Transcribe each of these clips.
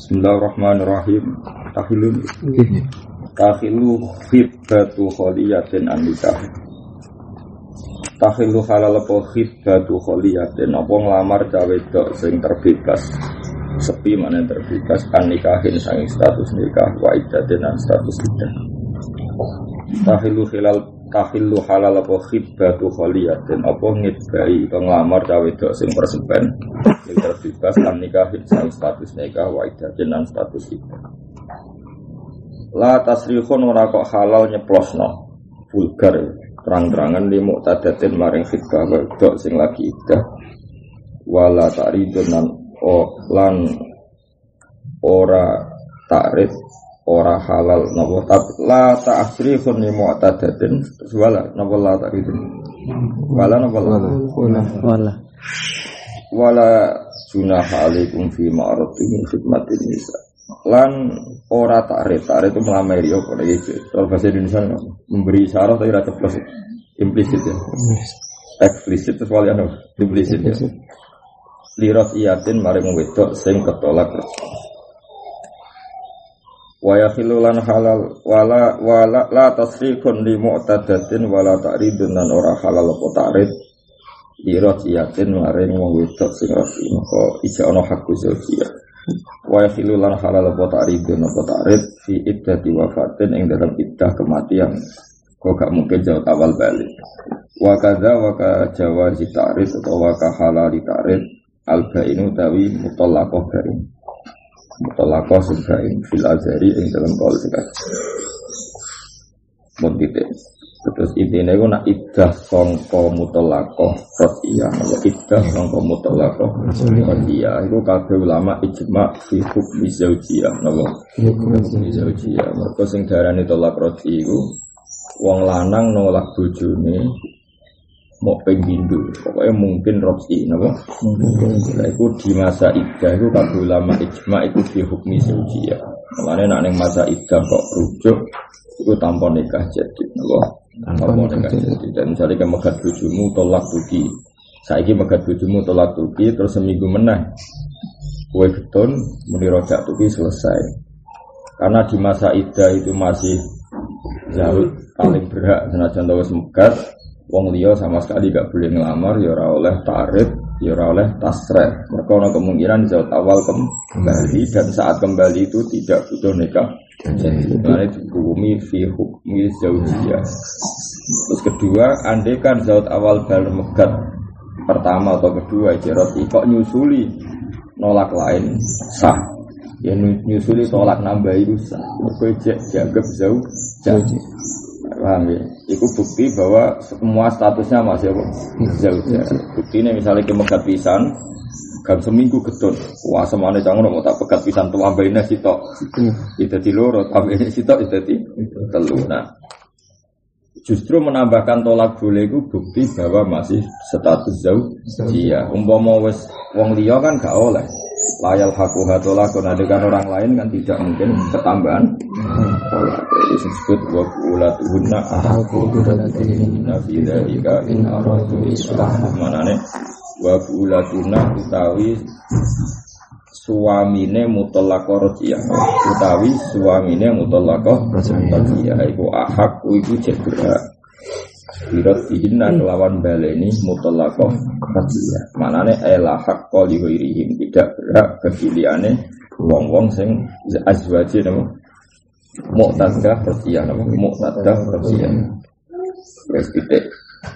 Bismillahirrahmanirrahim. Takhilu khibbatu kholiyatin an-nikah. Takhilu halal apa khibbatu kholiyatin apa nglamar cawe wedok sing terbebas. Sepi mana terbebas an-nikahin sanging status nikah wa iddatin an status iddah. Takhilu halal apa khibbatu kholiyatin apa ngidbai utawa nglamar cawe wedok sing persepen sing terbebas an-nikahin sanging status nikah wa iddatin an status iddah. La tasrihun ora kok halal nyeplosno vulgar terang-terangan li muqtadatin maring khidbah wedok sing lagi iddah wala ta'ridun lan ora ta'rid ora halal napa la tasrihun li muqtadatin wala napa la ta'ridun wala junaha alaikum fi ma'rufin min khidmatin nisa lan ora ta'rid itu melamari apa iki kalau bahasa Indonesia memberi syarat tapi ora ceplos implisit ya eksplisit terus wali implisit ya liras iyatin maring wedok sing ketolak wa yakhilu lan halal wala la tasrikun li mu'tadatin wala ta'ridun lan ora halal apa ta'rid liras iyatin maring wedok sing rafi moko ija ana hakku zaujiyah wa yakhilu lan halal apa ta'ridun apa ta'rid fi iddati wafatin ing dalam iddah kematian kok gak mungkin jauh awal balik wa kadza wa ka jawazi ta'rid atau wa ka halali ta'rid al-bainu tawi mutallaqah bain mutallaqah subain fil azhari ing dalam qaul fikih mungkin terus intine iku nak iddah sangka mutallaqah radiyah wa iddah sangka mutallaqah radiyah iku kabeh ulama ijma fi hukmi zaujiyah napa hukmi zaujiyah mergo sing darani talaq radhi iku wong lanang nolak bojone mau penggindu pokoknya mungkin roksi napa lha iku di masa iddah iku kabeh ulama ijma iku fi hukmi zaujiyah mulane nek ning masa iddah kok rujuk iku tanpa nikah jadi napa dan misalnya kayak megat bojomu tolak tuki saiki megat bojomu tolak tuki terus seminggu meneh kue getun muni rojak tuki selesai karena di masa iddah itu masih jauh paling berhak senajan tau wis megat wong liya sama sekali gak boleh ngelamar ya ora oleh ta'rid ya ora oleh tasrih mergo ana kemungkinan jauh awal kembali dan saat kembali itu tidak butuh nikah jadi mulai dihukumi fi hukmi zaujiyah. Terus kedua, andai kan zaut awal bal megat pertama atau kedua jarot kok nyusuli nolak lain sah. Ya nyusuli tolak nambah itu sah. Kowe dianggap zaujah. Paham ya? Itu bukti bahwa semua statusnya masih zaujah. Buktinya misalnya kemegat pisan gam seminggu getun wah semane cangono mau tak pegat pisan tuambaine sitok itu dadi loro tambahine sitok itu dadi telu nah justru menambahkan tolak boleh itu bukti bahwa masih status zaujiyah umpama wis wong liya kan gak oleh layal hakuha tolakun adegan orang lain kan tidak mungkin ketambahan tolak itu disebut wa ulatuhunna ahaqu biradatihinna fi dzalika in aradu islah manane wa bulatuna utawi suamine mutallaqah radhiyah utawi suamine mutallaqah radhiyah iku ahak iku jebra birat dihinna kelawan baleni mutallaqah radhiyah manane ela hak qali ghairihim tidak berhak kepiliane wong-wong sing azwaji napa muqtadah radhiyah napa muqtadah radhiyah wis titik.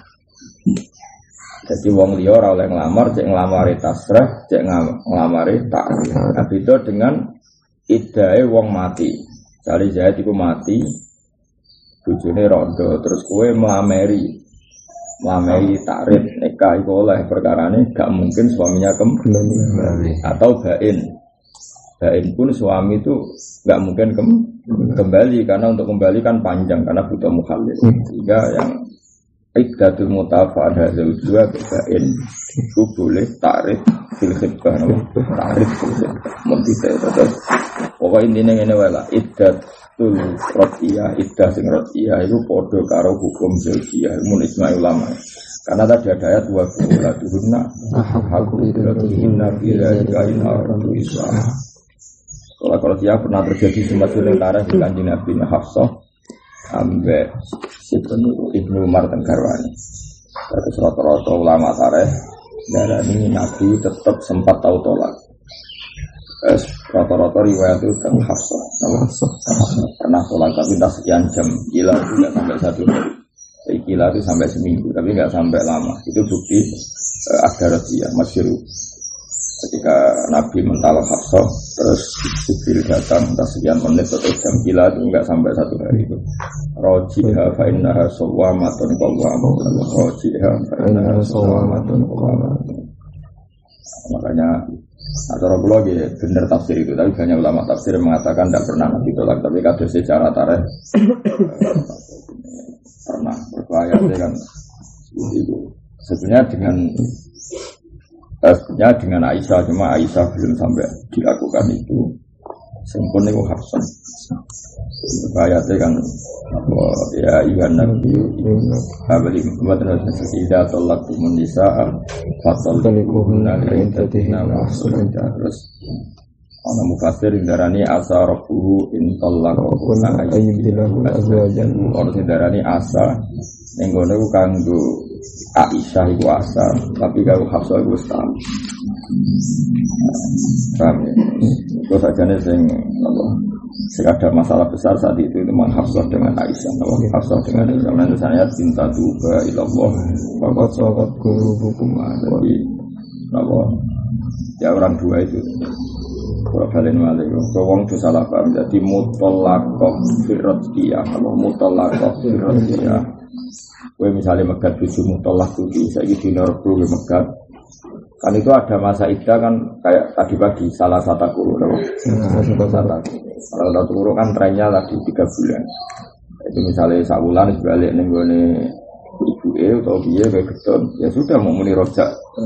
Jadi wong liya ora oleh nglamar, cek nglamari tasrih, cek nglamari ta'rid. Nah, beda dengan iddahe wong mati. Jare Zaid iku mati, bojone rondo, terus kowe nglamari ta'rid nikah iku oleh perkarane gak mungkin suaminya kembali atau bain. Bain pun suami itu gak mungkin kembali karena untuk kembali kan panjang karena butuh mukhallil. Sehingga yang iddatul mutafa'ah zaujiyah bain itu boleh ta'rid fil khidbah ta'rid fil khidbah mungkin terus pokoknya intinya ngene wae lah iddatul radhiyah iddah sing radhiyah itu padha karo hukum zaujiyah mun ijma' ulama karena tadi ada ayat wa qulatuhunna haqqu iddatihunna fi dzalika in aradu islah Mutolak Rodia pernah terjadi sempat sementara di Kanjeng Nabi Hafsah ambek Ibnu Umar Tenggarwani. Terus rata-rata ulama tarikh darani Nabi tetap sempat tahu tolak. Rata-rata riwayat itu kan Hafsah pernah tolak tapi tak sekian jam, gila itu nggak sampai 1 hari. Gila itu sampai seminggu tapi nggak sampai lama. Itu bukti ada Rodia masyhur. Ketika Nabi mentalak Hafsah, terus Jibril datang entah sekian menit atau jam, gila itu enggak sampai 1 hari itu. Rojiha fa innaha sawwamatun qawwamatun. Rojiha fa innaha sawwamatun qawwamatun. Makanya acara kula nggih bener tafsir itu, tapi banyak ulama tafsir mengatakan tidak pernah Nabi tolak, tapi kados secara tarikh pernah berbahaya kan itu. Sebenarnya dengan Aisyah, cuma Aisyah belum sampai dilakukan itu. Sempurna itu Hafsah. Ayatnya kan ya Iwan Nabi Abadi Muhammad Rasulullah Tolaktumun Nisa'a Fatolikuhunna Intatina Wahsulunja. Terus ana mufasir indarani asa rabbuhu in tallaqahunna ayyibdilahu azwajan. Orang indarani asa ning ngene ku kanggo Aisyah iku asa, tapi kalau Hafsah iku tahu. Paham ya? Itu sajane sing apa? Ada masalah besar saat itu memang Hafsah dengan Aisyah. Hafsah dengan Aisyah. Nanti saya cinta juga ilallah. Bapak sahabat guru hukum. Jadi apa? Ya orang dua itu. Kalau kalian malah, kalau itu salah paham. Jadi mutolakoh firrotiyah. Kalau mutolakoh firrotiyah. Gue misalnya megat tujuh mutolak tujuh, saya gitu norbu gue megat. Kan itu ada masa iddah kan kayak tadi pagi salah satu guru, Salah satu guru kan trennya lagi 3 bulan. Itu misalnya sabulan sebalik nih gue nih ibu atau dia kayak gitu, ya sudah mau muni rojak.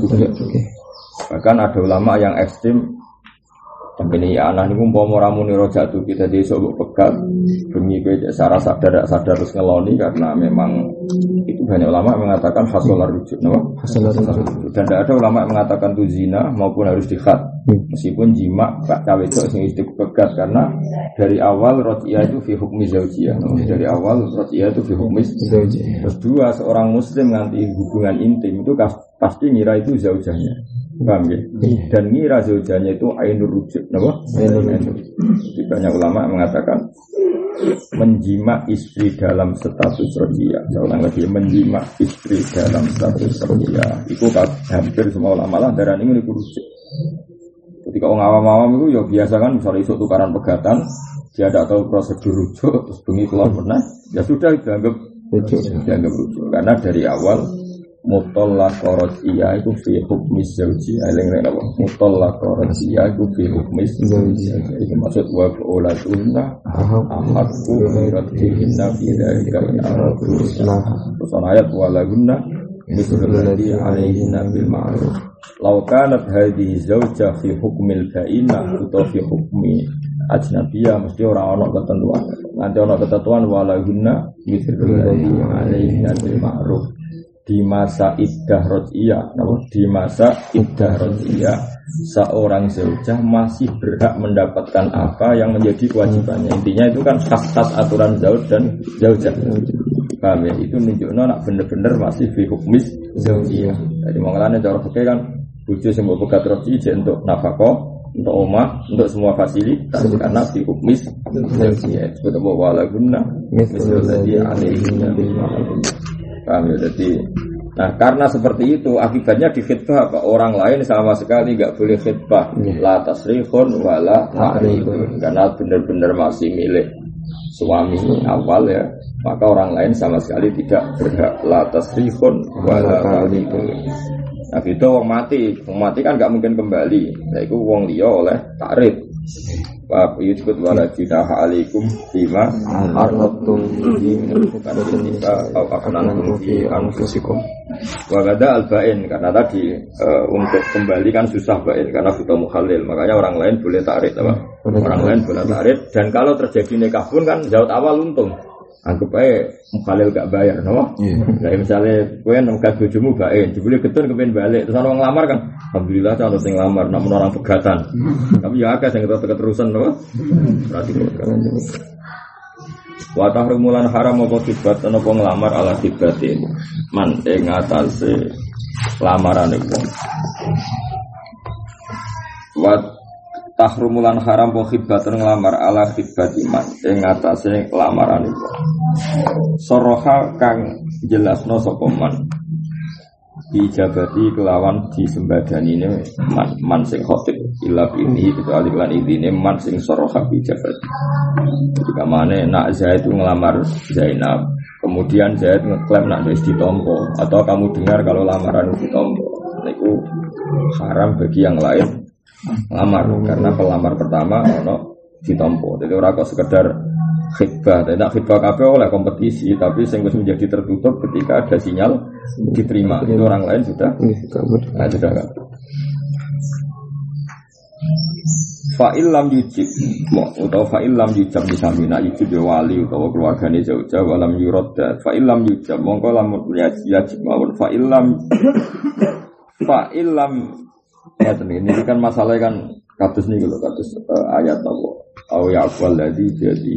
Bahkan ada ulama yang ekstrim. Sampai ini anak ini mau ramuni rojak tuh kita besok pegat demi gue secara sadar terus ngeloni karena memang itu banyak ulama mengatakan hasolar rujuk, dan tidak ada ulama mengatakan itu zina maupun harus dikhat meskipun jima cawe itu sing pegat karena dari awal rojiyah itu fi hukmi zaujiyah, dari awal rojiyah itu fi hukmi zaujiyah. Terus dua seorang muslim nanti hubungan intim itu pasti ngira itu zaujahnya. Paham ya? Dan ngira zaujahnya itu ainur rujuk, banyak ulama mengatakan menjima istri dalam status rojiyah. Saya ulang lagi, menjima istri dalam status rojiyah itu hampir semua ulama lah darah ini rujuk. Ketika orang awam-awam itu ya biasa kan misalnya isu tukaran pegatan, dia tidak tahu prosedur rujuk, terus bengi keluar pernah, ya sudah dianggap rujuk karena dari awal mutallaq rajiyah itu fi hukmi zaujiyah. Eling-eling apa? Mutallaq rajiyah itu fi hukmi zaujiyah. Itu maksud wa ulatuna ahadku radhihinna fi dzalika in aradu islah. Terus ayat walahunna mithlul ladzi 'alaihinna bil ma'ruf. Law kanat hadhihi zaujah fi hukmil ba'inah atau fi hukmi ajnabiyah mesti ora ana ketentuan. Nanti ana ketentuan walahunna mithlul ladzi 'alaihinna bil ma'ruf. Di masa iddah rojiyah, di masa iddah rojiyah seorang zaujah masih berhak mendapatkan apa yang menjadi kewajibannya. Intinya itu kan khas-khas aturan zauj dan zaujah. Paham ya? Itu nunjukno nak bener-bener masih fi hukmis zaujiyah. Jadi mengalami cara fikih kan bojo sing mbok pegat rojiyah untuk nafkah, untuk omah, untuk semua fasilitas karena fi hukmis zaujiyah. Sebut wala gunna misal ladzi alaihi bil ma'ruf. Paham ya? Jadi, nah karena seperti itu akibatnya di khitbah apa? Orang lain sama sekali nggak boleh khitbah la tasrihun wala ta'rihun karena benar-benar masih milik suami awal ya, maka orang lain sama sekali tidak berhak la tasrihun wala ta'rihun. Nah itu wong mati kan nggak mungkin kembali, nah itu wong liya oleh takrib. Wa yusbut wala jinaha alaikum bima arradtum bihi min al-fuqara aw aqnantum fi anfusikum. Wa gada al-ba'in karena tadi untuk kembali kan susah ba'in karena butuh mukhallil, makanya orang lain boleh takrib apa? Orang lain boleh takrib dan kalau terjadi nikah pun kan zaut awal untung. Anggap aja mukhalil gak bayar, no? Kayak misalnya kowe nengkat bojomu bae, jebule getun kepen balik, terus orang ngelamar kan, alhamdulillah cara sing ngelamar, namun orang pegatan. Tapi ya akeh sing keterusan, no? Berarti kan. Wa tahrumulan haram apa kibat ana apa nglamar ala kibatin. Man ing atase lamarane wong. Wa tahrumulan haram apa kibat nglamar ala kibatiman ing atase lamarane wong. Soroha kang jelasno sapa man. Dijabati kelawan disembadani man sing khotib ila ini kecuali lan idine man sing soroha dijabati. Ketika mana nak Zaid itu ngelamar Zainab, kemudian Zaid ngeklaim nak wis ditompo, atau kamu dengar kalau lamaran ditompo, itu haram bagi yang lain lamar karena pelamar pertama ono ditompo. Jadi ora kok sekedar khidbah, tidak khidbah kabeh oleh kompetisi, tapi sing wis menjadi tertutup ketika ada sinyal diterima. Itu orang lain sudah sudah kan. Fa'il lam yujib utawa fa'il lam yujab disamina yujib ya wali utawa keluargane jauh-jauh walam yuradda fa'il lam yujab mongko lamun yajib mawon fa'il lam ini kan masalah kan kados niku lho kados ayat apa au ya'qul ladzi jadi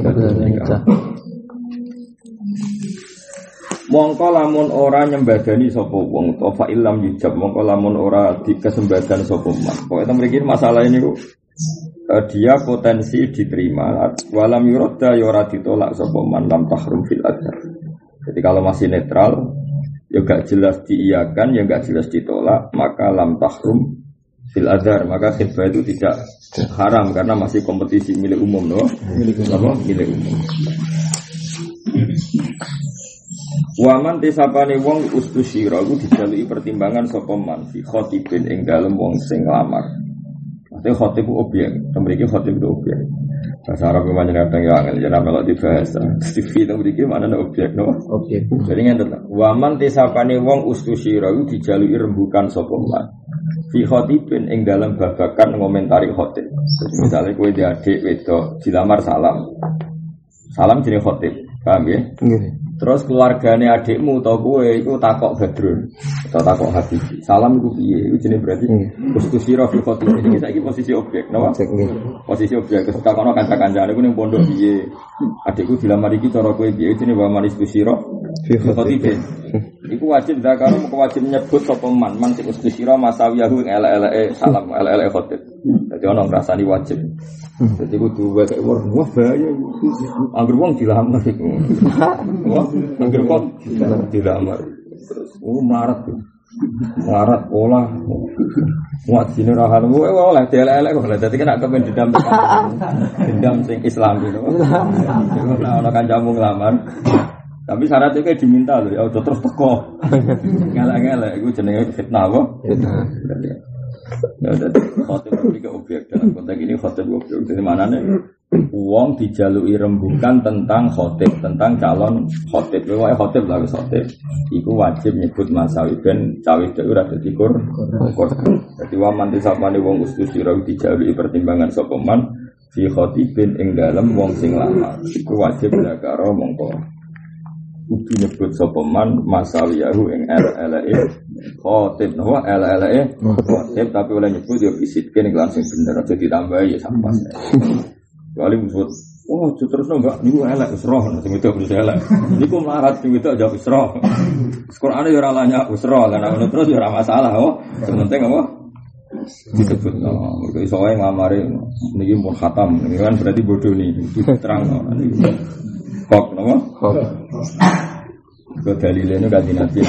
mongko lamun ora nyembadani sapa wong utawa fa'il lam yujab mongko lamun ora dikesembadan sapa man pokoke mriki masalah ini kok dia potensi diterima walam yuradda ya ora ditolak sapa man lam tahrum fil adhar. Jadi kalau masih netral ya gak jelas diiyakan ya gak jelas ditolak maka lam tahrum fil adhar maka khidbah itu tidak haram karena masih kompetisi milik umum no milik umum. Waman tisapane wong ustusyira iku dijaluki pertimbangan sapa man fi khatibin ing dalem wong sing nglamar. Maksudnya khatib itu objek, mriki khatib itu objek. Bahasa Arab memang kadang ya angel jeneng melok dibahas. TV itu mriki maknane objek no. Objek. Jadi ngenten. Waman tisapane wong ustusyira iku dijaluki rembukan sapa man. Fi khatibin ing dalem babakan ngomentari khatib. Misalnya kowe di adik wedok dilamar salam. Salam jenenge khatib. Paham ya? Nggih. Terus keluargane adikmu utawa kowe iku takok Badrun atau takok Habib. Salam iku piye? Iku jenenge berarti ustusira fi khatib. Iki saiki posisi objek, napa? Posisi objek. Terus takono kanca-kancane iku ning pondok piye? Adikku dilamar iki cara kowe piye? Jenenge wa manis ustusira fi khatib. Iku wajib zakaro wajib nyebut sapa man sing ustusira masawiyahu ing elek-eleke salam, elek-eleke khatib. Dadi ono ngrasani wajib. Jadi kudu wae wah bahaya itu. Angger wong dilamar iku. Wah, angger wong dilamar. Terus melarat pola. Muat sine rahan kowe oleh delek-elek kok. Dadi kena kepen dendam sing Islam gitu. Ono kancamu nglamar. Tapi syaratnya kayak diminta loh ya udah terus teko. Ngelak-ngelak iku jenenge fitnah apa? Fitnah. Ya udah khotib iki objek dalam konteks ini khotib objek di mana nih uang dijalui rembukan tentang khotib tentang calon khotib wae khotib lah khotib iku wajib nyebut masawi ben cawe itu ora dadi kur dadi waman disapane wong ustusira dijalui pertimbangan sapa man fi khotibin ing dalem wong sing lamar iku wajib zakaro mongko kudu nyebut sapa man masawiyahu ing eleke khotib no eleke khotib tapi oleh nyebut yo bisitke ning langsung bener aja ditambahi ya sampas. Kali musuh oh terus enggak niku elek wis roh sing itu wis elek. Niku melarat sing itu aja wis roh. Qur'ane yo ora lanya wis roh lan ngono terus yo ora masalah oh. Sing penting apa? Disebut no. Mergo iso wae ngamare niki mun khatam niki kan berarti bodoh nih diterang niki. Kok nama? Kok. Ke dalilnya kan Nabi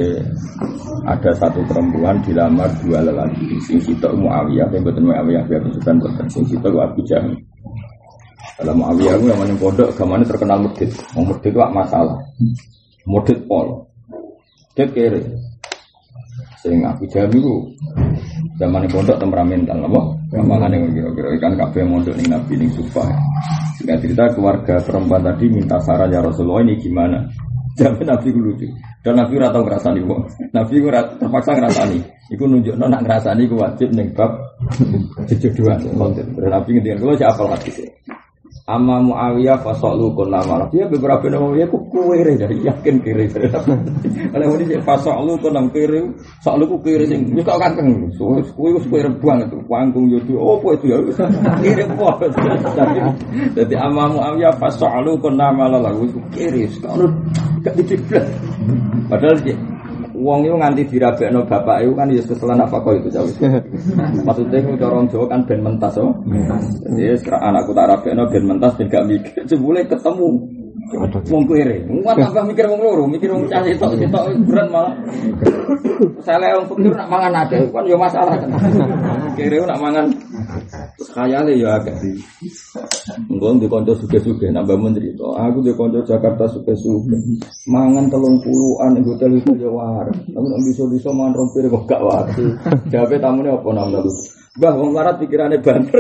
ada satu perempuan dilamar dua lelaki. Sing sitok Muawiyah, yang betul Muawiyah biar bukan betul. Sing sitok Abu Jahal. Dalam Muawiyah itu yang mana pondok, gamane terkenal mudid. Mudid itu masalah. Mudid pol. Mudid kere. Sing Abu Jahal itu zaman pondok temperamental, apa? Gampangan yang kira-kira ikan kabeh mondok ning Nabi ning Sufah. Singkat cerita keluarga perempuan tadi minta saran ya Rasulullah ini gimana? Jadi Nabi ku lucu. Dan Nabi ora tau ngrasani wong. Nabi ku terpaksa ngrasani. Iku nunjukno nak ngrasani ku wajib ning bab jejodohan konten. Nabi ngendikan kula siapa hadis. Amma Muawiyah fasalu kunna malah. Dia beberapa nama dia ku kere dari yakin kere. Kalau ini fasalu kunna kere, salu ku kere sing yo kok kanteng. Kuwi wis kere banget tuh. Panggung yo opo itu ya. Kere apa. Jadi amma Muawiyah fasalu kunna malah lagu kere. Kalau gak diciplet. Padahal wong itu nganti dirabekno bapak itu kan ya keselan apa kok itu jauh. Maksudnya itu orang Jawa kan ben mentas oh. Jadi anakku tak rabekno ben mentas ben gak mikir. Jebule ketemu wong kere. Wong tambah mikir wong loro, mikir wong cah sitok berat malah. Saya wong pikir nak mangan akeh kan ya masalah kan. Kere nak mangan terus khayale ya akeh. Engko di kanca suge-suge nambah menteri to. Aku di kanca Jakarta suge-suge. Mangan 30-an ing hotel itu ya war. Tapi nek bisa mangan rompir kok gak wae. Jawabe tamune apa nang lu? Mbah wong larat pikirane banter.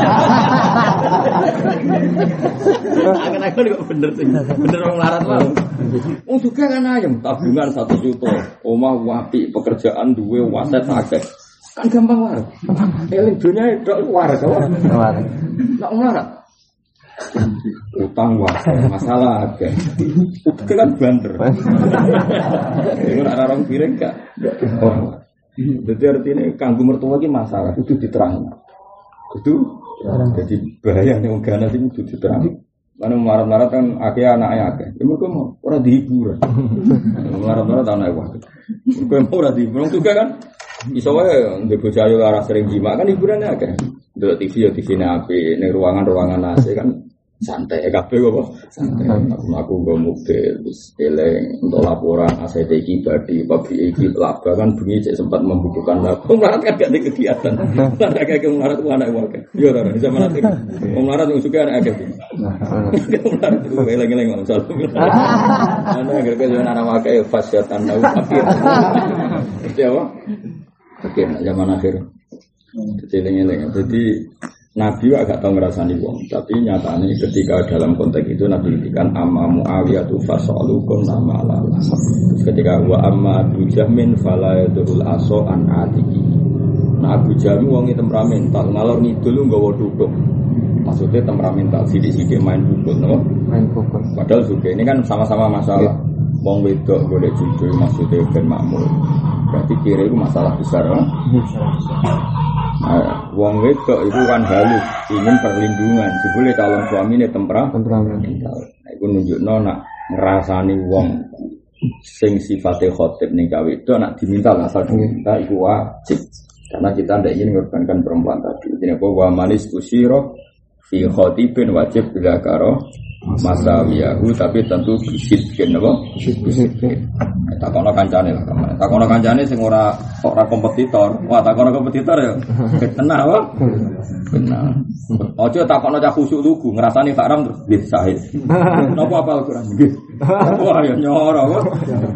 Angen-angen kok bener sing. Bener wong larat wae. Wong suge kan ayem, tabungan 1 juta. Omah apik, pekerjaan duwe waset akeh. Kan gampang wae. Eling dunya tok wae to. Wae. Nek larat utang wae masalah akeh. Utang kan banter. Iku nek orang piring gak. Jadi artinya kanggo mertua iki masalah kudu diterang. Kudu jadi bahaya nek wong ganas iki kudu diterang. Lan marat-marat kan akeh anake akeh. Ya mergo ora dihibur. Marat-marat anake wae. Mergo ora dihibur juga kan. Iso wae ndek bojo ayu ora sering jima kan hiburannya akeh. Ndelok TV ya TV-ne apik, ning ruangan-ruangan AC kan santai kabeh kok. Santai. Aku nggo mobil wis eleng untuk laporan ACT iki badi pabrik iki laba kan bengi cek sempat membukukan laba. Marat kan gak ada kegiatan. Lan akeh marat ku anak wae. Yo ora bisa marat iki. Wong marat sing suka anak akeh. Marat ku eleng-eleng ngono salah. Ana agar kaya anak wae fasyatan nau akhir. Itu apa? Oke, zaman akhir. Celeng-eleng. Jadi Nabi agak tahu ngerasani wong, tapi nyatanya ketika dalam konteks itu Nabi ngendikan amma Muawiyah tu fasalukum nama Allah. Ketika wa amma Abu Jahmin fala yadul aso an atiki. Nah Abu Jahmin wong temperamental, ngalor ngidul nggawa duduk. Maksudnya temperamental, sidik-sidik main pukul, no? Main pukul. Padahal juga ini kan sama-sama masalah. Wong wedok boleh jujur maksudnya ben makmur. Berarti kira itu masalah besar, no? Nah, wong wedok itu kan halus, ingin perlindungan. Jebule calon suami ini temperamental. Nah, itu nunjukno nak ngrasani wong sing sifate khotib ning gawe wedok nak diminta asal diminta iku wajib. Karena kita tidak ingin mengorbankan perempuan tadi. Jadi apa wa manis usyiro fi khotibin wajib bila karo masawiyahu, tapi tentu bisidkin apa? Bisidkin. Takono kancane lah, takono kancane sing ora kompetitor. Wah, takono kompetitor ya. Tenang apa? Benar. Ojo takono cah khusuk lugu, ngrasani haram terus nggih sahih. Napa apal Quran nggih. Wah, ya nyoro kok.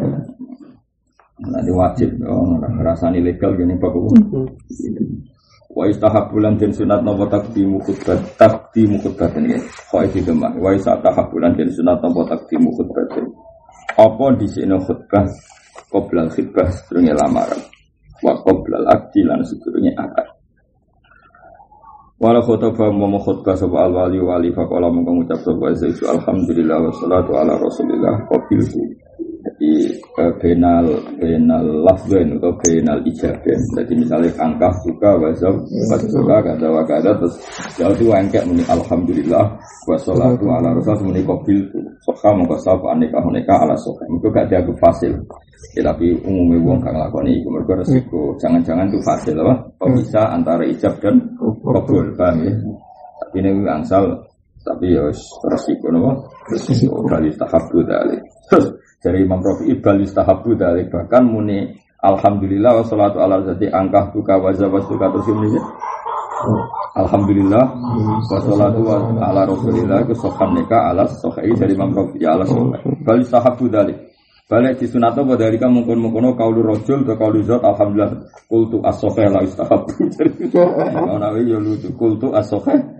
Nah, wajib ngrasani legal gini Pak. Wa istahabulan den sunat napa takdimu khutbah ini. Kok iki demak. Wa istahabulan den sunat napa takdimu khutbah. Apa dhisikno khutbah qoblal khutbah sedurunge lamaran. Wa qoblal aqdi lan sedurunge akad. Wala khutbah momo khutbah sapa al-wali wali faqala mung ngucap sapa Zaidu alhamdulillah wassalatu ala rasulillah qabiltu. Jadi benal lafzen atau benal ijaben. Jadi misalnya angka suka wazab suka kata wakada terus jauh itu angkat muni alhamdulillah wassalatu ala rasul muni qabil tu sokha mongko sapa aneka ala sokha itu gak dianggap fasil. Tapi umumnya wong kang lakoni iku mergo resiko jangan-jangan itu fasil apa pemisah antara ijab dan qabul paham ya. Tapi ini angsal tapi ya resiko napa resiko kali tahabbu dalil. Dari Imam Rafi'i bal istahabu dzalik bahkan muni alhamdulillah wassalatu ala zati angkah tuka wazawastuka terus ini alhamdulillah wassalatu ala rasulillah kusofan neka ala sohai dari Imam Rafi'i ala sohai bal istahabu dzalik balik di sunat apa dari kamu mungkin kaulu rojul atau kaulu zat alhamdulillah kultu as-sohai la istahabu jadi nawi ya lucu kultu as-sohai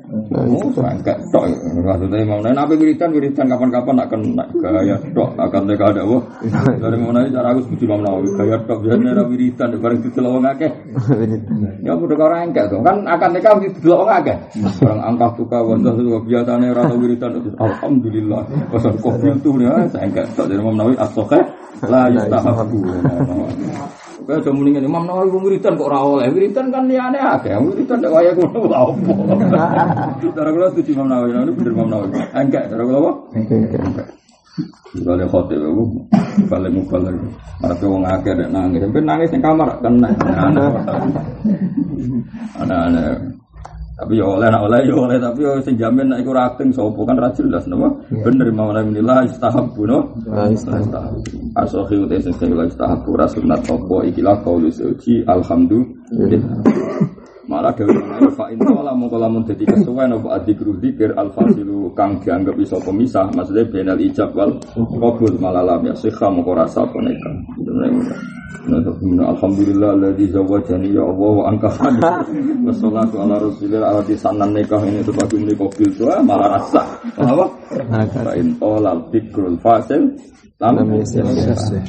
Enggak tok. Maksudnya Imam Nawawi nabi wiridan kapan-kapan nak kena gaya tok akan teka ada wah. Dari Imam Nawawi cara aku setuju Imam Nawawi gaya tok biasanya ada wiridan bareng didelok wong akeh. Ya padha karo enggak to. Kan akan teka didelok wong akeh. Barang angkah tuka wajah biasane ora tau wiridan alhamdulillah. Pasal kopi itu ya saya enggak tok dari Imam Nawawi as-sahih la yustahabbu. Kaya do muni ngene Imam Nawawi wiridan kok ora oleh. Wiridan kan liyane akeh. Wiridan nek waya ngono apa. Cara kula setuju Imam Nawawi, ini bener Imam Nawawi. Enggak, cara kula apa? Enggak. Kalau khotib aku balik mubalik. Arep wong akeh nek nangis, sampe nangis ning kamar kena. Ana-ana. Tapi ya oleh tapi ya sing jamin nek iku ra akting sapa kan ra jelas napa. Bener Imam Nawawi la istahabbu no. Asohi udah sing la istahabbu rasulullah apa ikilah qaulu suci alhamdulillah. Malah dewe menawa fa inna la mongko lamun dadi kesuwen apa adzikru dzikir al-fasilu kang dianggap iso pemisah maksudnya benal ijab wal qabul malalam ya sikha mongko rasa poneka. Alhamdulillah alladzi zawwajani ya Allah wa angkahani. Wassalatu ala rasulillah alladzi sanan nikah ini sebagai menika qabil doa malah rasa. Apa? Fa in talal dzikrul fasil lam yasih.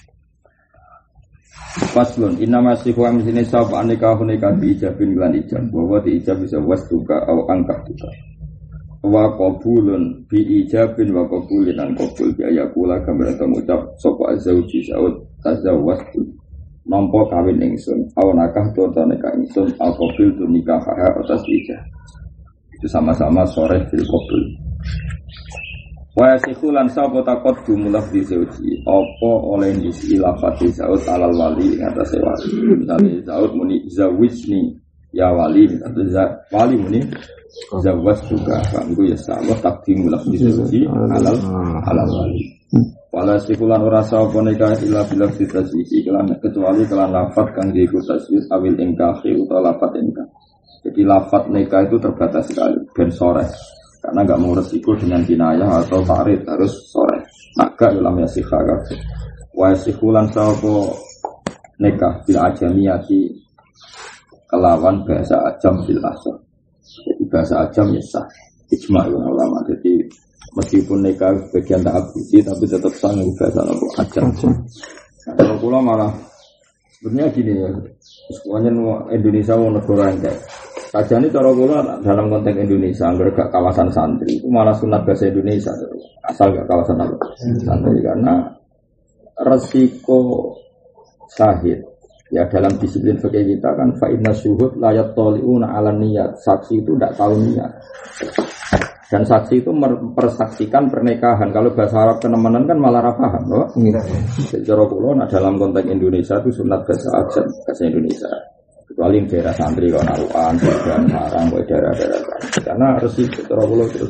Faslun inna masih wa misine sapa nikah diijabin lan ijab bahwa diijab bisa wastuka au angkah kita wa qabulun bi ijabin wa qabulin an qabul bi ayakula gambar ngucap sapa zauji saud tazawwastu nampa kawin ingsun au nakah to nikah ingsun au qabil tu nikah atas ijab itu sama-sama sore fil qabul. Wa sikhulan sapa takot jumlah di zauji apa oleh disi lafati zaud alal wali atase wali misale zaud muni zawijni ya wali atau wali muni zawas juga kan ku ya sama takdim lafzi zauji alal wali wala sikhulan ora sapa nikah ila bila taswisi kecuali kelan lafat kang diiku taswis awil ingkahi utawa lafat ingkah. Jadi lafat nikah itu terbatas sekali ben sore. Karena enggak mau resiko dengan kinayah atau ta'rid harus sore. Maka dalam yasikha kabeh. Wa yasikhulan sapa nikah bil ajamiyati kelawan bahasa ajam bil asal. Jadi bahasa ajam ya sah. Ijma' ulama. Jadi meskipun nikah bagian ta'abbudi tapi tetap sah dengan bahasa ajam. Nah, kalau kula malah sebenarnya gini ya. Semuanya Indonesia mau negara enggak. Saja ini cara kula dalam konteks Indonesia, enggak kawasan santri, itu malah sunat bahasa Indonesia, asal enggak kawasan apa santri karena resiko syahid ya dalam disiplin fikih kita kan fa inna syuhud la yattali'una 'ala niyat, saksi itu tidak tahu niat. Dan saksi itu mempersaksikan pernikahan. Kalau bahasa Arab kenemenan kan malah ra paham, loh. Cara kula dalam konteks Indonesia itu sunat bahasa Indonesia. Kecuali daerah santri kalau naruhan, dan sarang, daerah-daerah karena resik terlalu terus.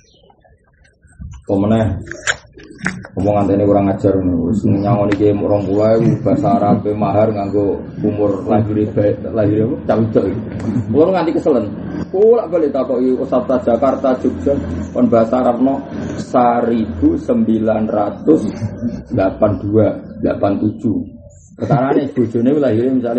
Kemudian omongan ini kurang ajar, nyangon iki orang pula bahasa Arab mahar nganggo umur lahir campur. Kulo nganti keselen. Kulo balik takoki Ustaz Jakarta Jogja kon bahasa Arabno 1982 87. Ketarane bojone lahir misalnya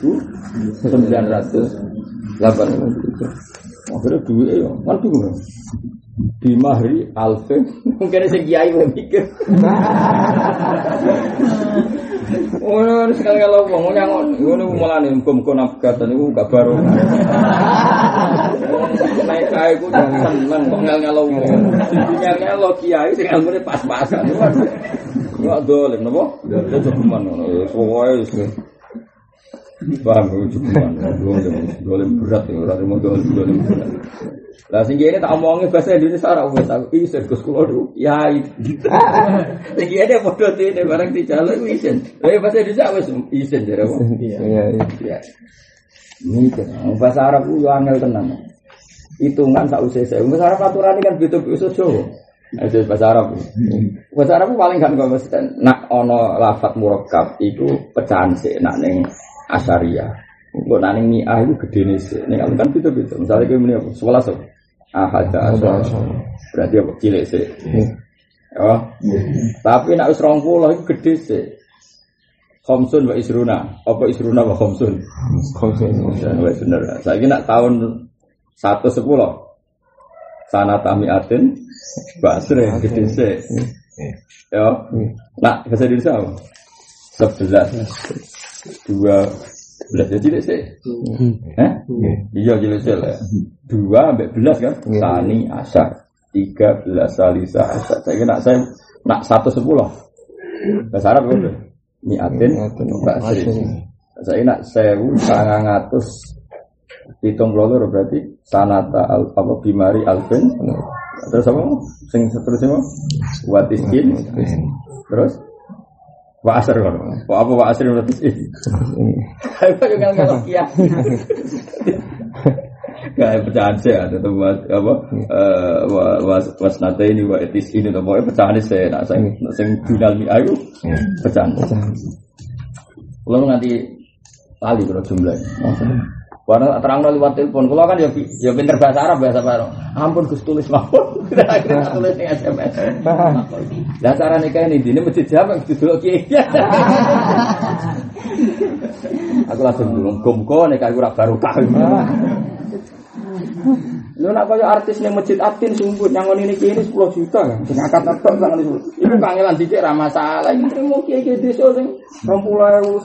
1908. Akhirnya duwe ya, kan bingung. Di mahri alfe, mungkin sing kiai mikir. Ono sekali kalau ngomong nyangon, ngono mulane muga-muga nafkatan niku gak baro. Naik kae ku seneng kok ngel-ngelo. Ngel-ngelo kiai sing ilmune pas-pasan. Enggak dolen napa? Cukuman ngono. Pokoke wis. Paham cukuman. Dolen berat ya ora mau dolen berat. Lah sing kene tak omongi bahasa Indonesia ora wis aku iso Gus kula niku kiai. Sing kene padha dene bareng dijaluk isin. Lah bahasa Indonesia wis isin jare kok. Iya. Mikir bahasa Arab ku yo angel tenan. Hitungan sak usih saya. Bahasa Arab aturane kan beda-beda Jawa. Itu bahasa Arab. Bahasa Arab paling kan konsisten. Nak ono lafaz murakkab itu pecahan sik nak ning asyariah. Engko nak ning mi'ah itu gedene sik. Ning kan beda-beda. Misale kowe muni 11. Ahada asal. Berarti apa cilik sik. Ya. Tapi nak wis 20 itu gede sik. Khamsun wa isruna. Apa isruna wa khamsun? Khamsun. Ya wis bener. Saiki nak tahun 110. sanata mi'atin basri gede sik. Ya. Nah, bahasa Indonesia apa? 11 12 jadi sik. Iya jadi sik lah. 2 sampai 11 kan? Sani asar. 13 salisa asar. Saya nak 110. Bahasa Arab udah. Mi'atin basri. Saya nak 1900 hitung loro berarti sanata apa bimari alfin. Terus apa? Sing seterusnya watiskin. Terus wa asr kan. Apa wa asr watiskin? Apa juga enggak kias. Kayak pecahan saya atau apa wasnata ini wa etis ini atau pokoknya pecahan saya nak sing jurnal mi ayu pecahan. Kalau nanti tali kalau jumlahnya. Warna terang lewat telepon. Kalau kan ya pinter bahasa Arab bahasa baru. Ampun Gus tulis mawon. Kita tulis di SMS. Lah cara nikah ini mesti jawab dulu kiai. Aku langsung muga-muga nikah iku ora barokah. Lho nak kaya artis ning Masjid Atin sumput nyangon ini 10 juta kan. Sing akad-akad nang niku. Iku kangelan dicek ra masalah. Iki trimo kiai-kiai desa sing 20.000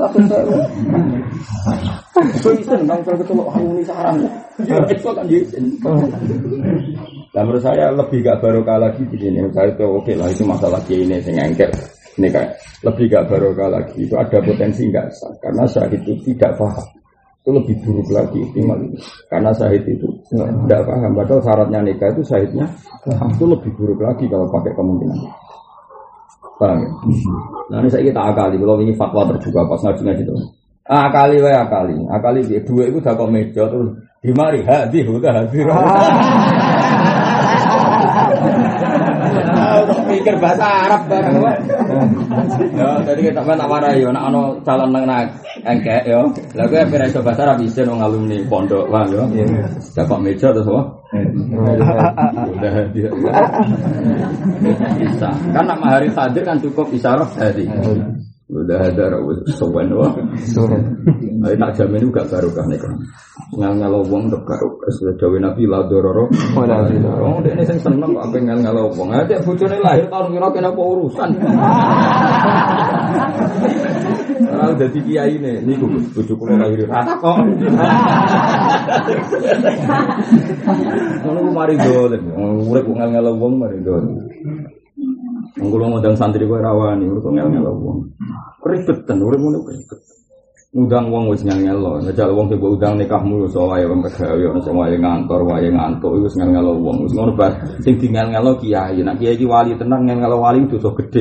1.000. So itu nang ketemu ini sarang. Itu kan jadi. Dan menurut saya lebih gak barokah lagi begini. Saya itu oke lah itu masalah ini sing engkel. Ini kayak lebih gak barokah lagi. Itu ada potensi enggak sah karena syahid itu tidak paham. Itu lebih buruk lagi optimal itu. Karena syahid itu tidak paham. Padahal syaratnya nikah itu syahidnya itu lebih buruk lagi kalau pakai kemungkinan. Paham ya? Nah ini saya kita akali. Kalau ini fatwa terbuka pas ngaji gitu. Akali dia dua itu dah kok meja terus di mari hadir udah hadir. Untuk mikir bahasa Arab bareng. Ya, tadi kita tak warai yo nek ana calon nang engkek yo. Lah kowe ora iso bahasa Arab iso nang alumni pondok wae yo. Dah kok meja terus apa? Udah hadir. Bisa. Kan nak mahari hadir kan cukup isyarah hadir. Udah ada rawat sowan wah. Ayo tak jamin juga barokah nih kan. Ngal wong untuk barokah. Sudah jauh Nabi la dororo. Oh, dia ini seneng kok apa ngal wong. Ada bojone lahir tahun kira kena apa urusan. Kalau dadi kiai niku bojo kula lahir rata kok. Ngono ku mari dolen. Urip ngal wong mari dolen. Ngulung ngundang santri kowe rawani, urip ngel-ngel wong. Ribetan, urip ngono ribet. Ngundang wong wis ngel-ngel lho, njajal wong sing mbok undang nikahmu iso wae wong pegawe ono sing wae ngantor, wae ngantuk iku wis ngel-ngel wong. Wis ngono bar sing dingel-ngel kiai, nek kiai iki wali tenang ngel-ngel wali dosa gedhe.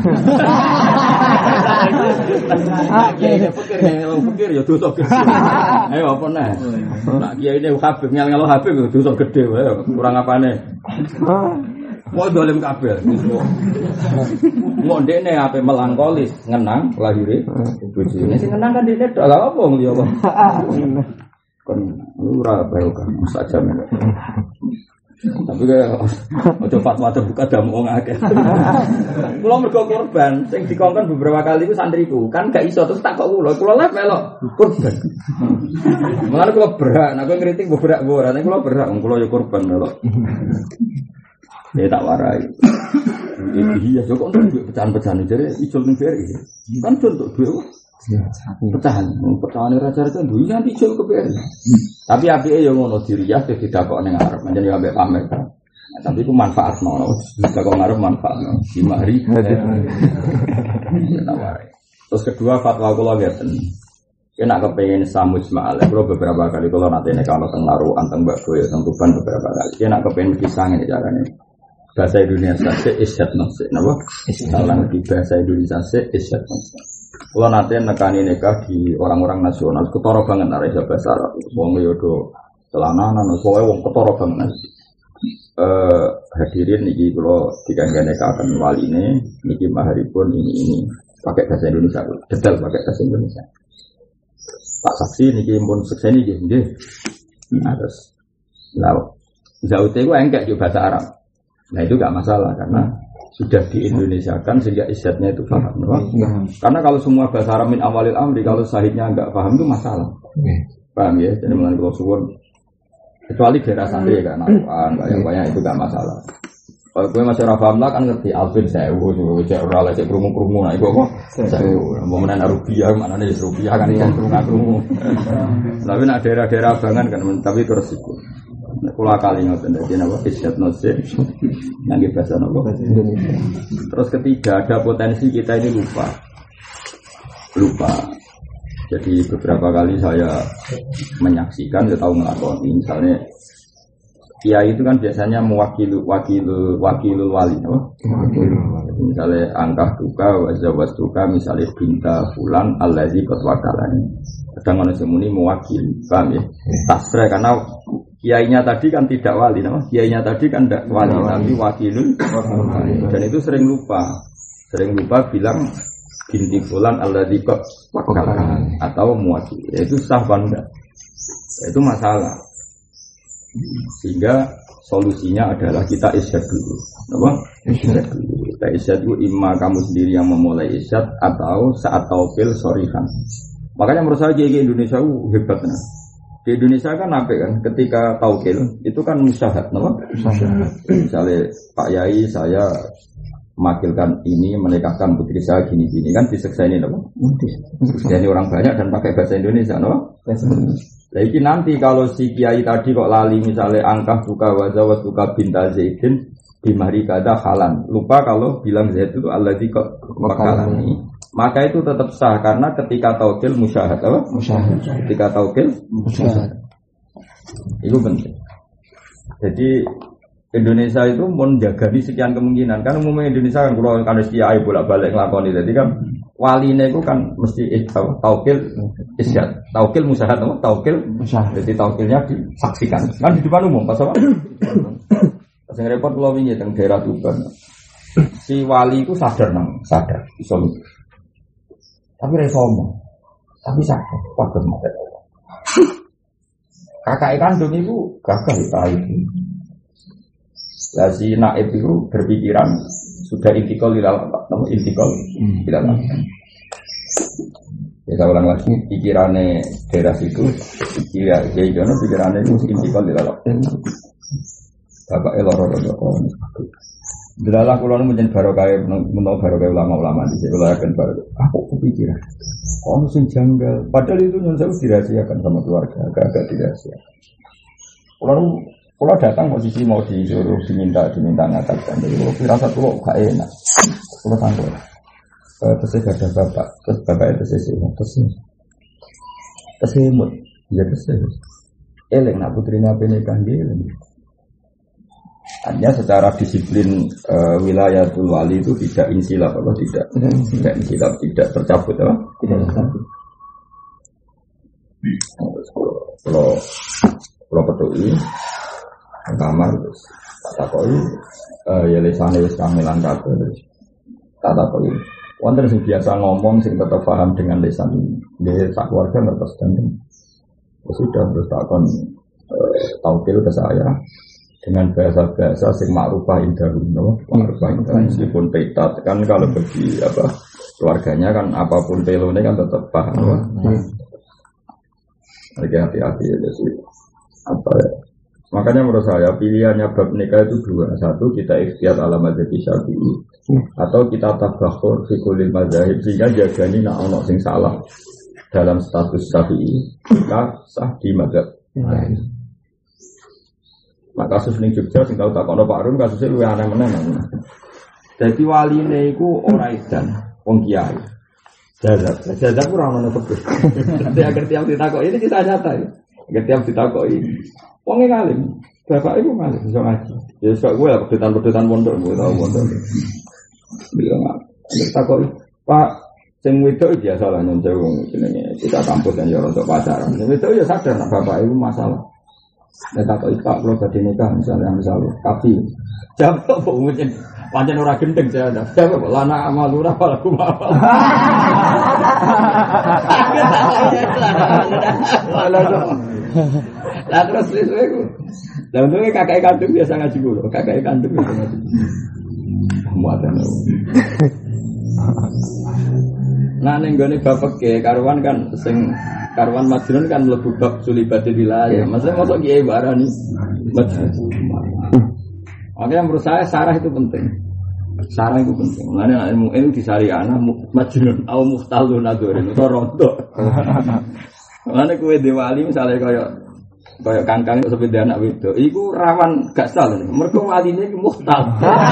Kiai pikir ngel pikir ya dosa gedhe. Ayo apa neh? Nek kiai ne Habib ngel-ngel Habib dosa gedhe wae, kurang apane. Mau dolim kabel, mau dene apa melankolis, ngenang lahirnya, bujine sih ngenang kan dene dah lah apa ngeliat apa, kan lurah barokah saja mereka. Tapi kayak ojo fatwa buka damu ngake. Kulo mergo korban, sing dikongkon beberapa kali itu santriku, kan gak iso terus tak kok kulo lah melok korban. Mulane kulo berak, nek ngritik berak ora, nek kulo berak, kulo ya korban melok. Dia tak warai. Iya, kok untuk pecahan-pecahan jadi ijol ning BRI. Kan contoh dua pecahan raja-raja duwe nanti ijol ke BRI. Tapi apike yo ngono diriyah tidak kok ning arep, menjen yo ambek pamer. Tapi ku manfaatno, bisa kok ngarep manfaatno. Di mari. Tak warai. Terus kedua fatwa kula ngeten. Kena kepengen samus ma'al. Kalau beberapa kali kalau nanti nek ana teng narukan teng Mbak Boyo teng Tuban beberapa kali. Kena kepengen kisah ngene carane. Bahasa Indonesia se isyat nafsi, napa? Salah di bahasa Indonesia se isyat nafsi. Kalau nanti nekani nikah di orang-orang nasional, ketara banget nara bahasa Arab. Wong yodo celananan, soalnya wong ketara banget. Hadirin niki kalau dikangge nikahaken wali niki maharipun ini pakai bahasa Indonesia, detail pakai bahasa Indonesia. Pak saksi niki pun sekseni nggih. Nah terus, lalu zaute itu engkek juga bahasa Arab. Nah itu gak masalah karena sudah di Indonesia kan sehingga isyatnya itu paham. Karena kalau semua bahasa Arab min awalil amri kalau sahidnya gak paham itu masalah. Paham ya? Jadi mulai kalau suwun Kecuali daerah santri ya kan, banyak itu gak masalah. Kalau gue masih paham lah kan ngerti Alvin sewu, cek ora lek krungu-krungu nah iku apa? Sewu. Momen rupiah mana nih rupiah kan ikan krungu-krungu. Tapi nak daerah-daerah abangan kan tapi terus iku. Nek kula kali ngoten dadi napa isyat nose ngangge bahasa napa Indonesia. Terus ketiga ada potensi kita ini lupa. Jadi beberapa kali saya menyaksikan atau ngelakoni misalnya kiai itu kan biasanya mewakili wakilul wali, misalnya angkah duka, wazawaz duka, misalnya binta fulan, allazi qad wakalani. Kadang manusia muni mewakili, paham ya? Tasreh karena kiainya tadi kan tidak wali, kiainya tadi kan tidak wali, tapi wakilul wali. Dan itu sering lupa bilang binti fulan, allazi qad wakalani atau mewakili. Itu sah bangga, itu masalah. Sehingga solusinya adalah kita isyad dulu, apa? Isyad dulu. Kita isyad dulu, imma kamu sendiri yang memulai isyad atau saat taukil sorihan. Makanya menurut saya di Indonesia hebat nah. Di Indonesia kan apa kan? Ketika taukil itu kan musyahad, apa? Musyahad. Misalnya Pak Yai saya memakilkan ini menikahkan putri saya gini-gini kan diseksa ini apa? Jadi orang banyak dan pakai bahasa Indonesia, apa? Lagi nanti kalau si kiai tadi kok lali misalnya angkah buka wazawat buka binta Zaidin bimari kada halan lupa kalau bilang Zaid itu alladzi kok makalani maka itu tetap sah karena ketika taukil musyahad apa? Musyahad. Ketika taukil musyahad. Itu penting. Jadi Indonesia itu menjaga sekian kemungkinan kan umumnya Indonesia kan kalau kan kiai bolak-balik nglakoni jadi kan waline itu kan mesti taukil isyad, taukil musyahad, taukil musyahad. Jadi taukilnya disaksikan. Kan di depan umum pas apa? Pas repot kalau wingi teng daerah Tuban. Si wali itu sadar iso. Tapi ra sombong. Tapi sadar padha mate. Kakak kandung itu gagah itu. Lah si naib itu berpikiran sudah intikal di dalam intikal di dalam. Ya saya ulang lagi pikirannya daerah situ pikirannya itu intikal di dalam. Bapak elor Delalah kula nu menjen barokah menawa barokah ulama-ulama di sini akan barokah. Aku kepikiran. Ono sing janggal. Padahal itu nyun sewu dirahasiakan sama keluarga, agak dirahasiakan. Kalau datang posisi mau disuruh diminta ngatakan, jadi kalau firasat kalau gak enak, kalau tangguh, terus ada bapak, terus bapak itu terus imut, ya terus eleng nak putrinya penikah dia, hanya secara disiplin wilayatul wali itu tidak insilaf, apa tidak insilaf, tidak tercabut, apa tidak tercabut. Kalau peduli. Kamar terus tak takoi ya lesane wis kamilan kabeh terus tak takoi wonten sing biasa ngomong sing tetap paham dengan lesan nggih sak keluarga ngertos dan sudah terus takon taukil ke saya dengan bahasa-bahasa sing makrufah indah meskipun peta kan kalau bagi apa keluarganya kan apapun pelone kan tetap paham hati-hati ya sih apa ya. Makanya menurut saya pilihannya bab nikah itu dua. Satu kita ikhtiyat ala mazhab Syafi'i atau kita tabakhur fi kulli mazahib sehingga jagani nak ono sing salah dalam status Syafi'i maka sah di mazhab lain. Maka kasus ning Jogja sing tau takono Pak Rum kasusnya luwih aneh meneh. Dadi waline iku ora edan wong kiai. Jazab ora ono kebes. Dadi agar tiap ditakoki ini kisah nyata ya. Agar tiap ditakoki wong ngalim, bapak ibu ngalim, bisa ngaji. Ya sok gue lah pedutan pondok, gue tahu pondok. Bilang ada takoi, Pak, sing wedok biasa lah nyontek wong jenenge kita kampus kan ya untuk pacaran. Sing wedok ya sadar nak bapak ibu masalah. Nek takoi Pak kalau badhe nikah misalnya tapi jawab kok mungkin pancen ora gendeng saya. Jawab lana amalura palaku apa. Lah terus aku. Lah untungnya kakak kandung biasa ngaji dulu. Kakak kandung biasa ngaji. Muatan. Nah ning gone bapak karuan kan sing karuan majnun kan mlebu bab sulibatil wilayah. Maksudnya mosok kiai barani majnun. Makanya menurut saya sarah itu penting. Sarah itu penting. Mulane ilmu itu disariana majnun au muhtalun adoren itu rondo. Mulane kowe dewali misale kaya kangkang itu seperti anak wedok, iku rawan gak salah. Mergo waline iki muhtal.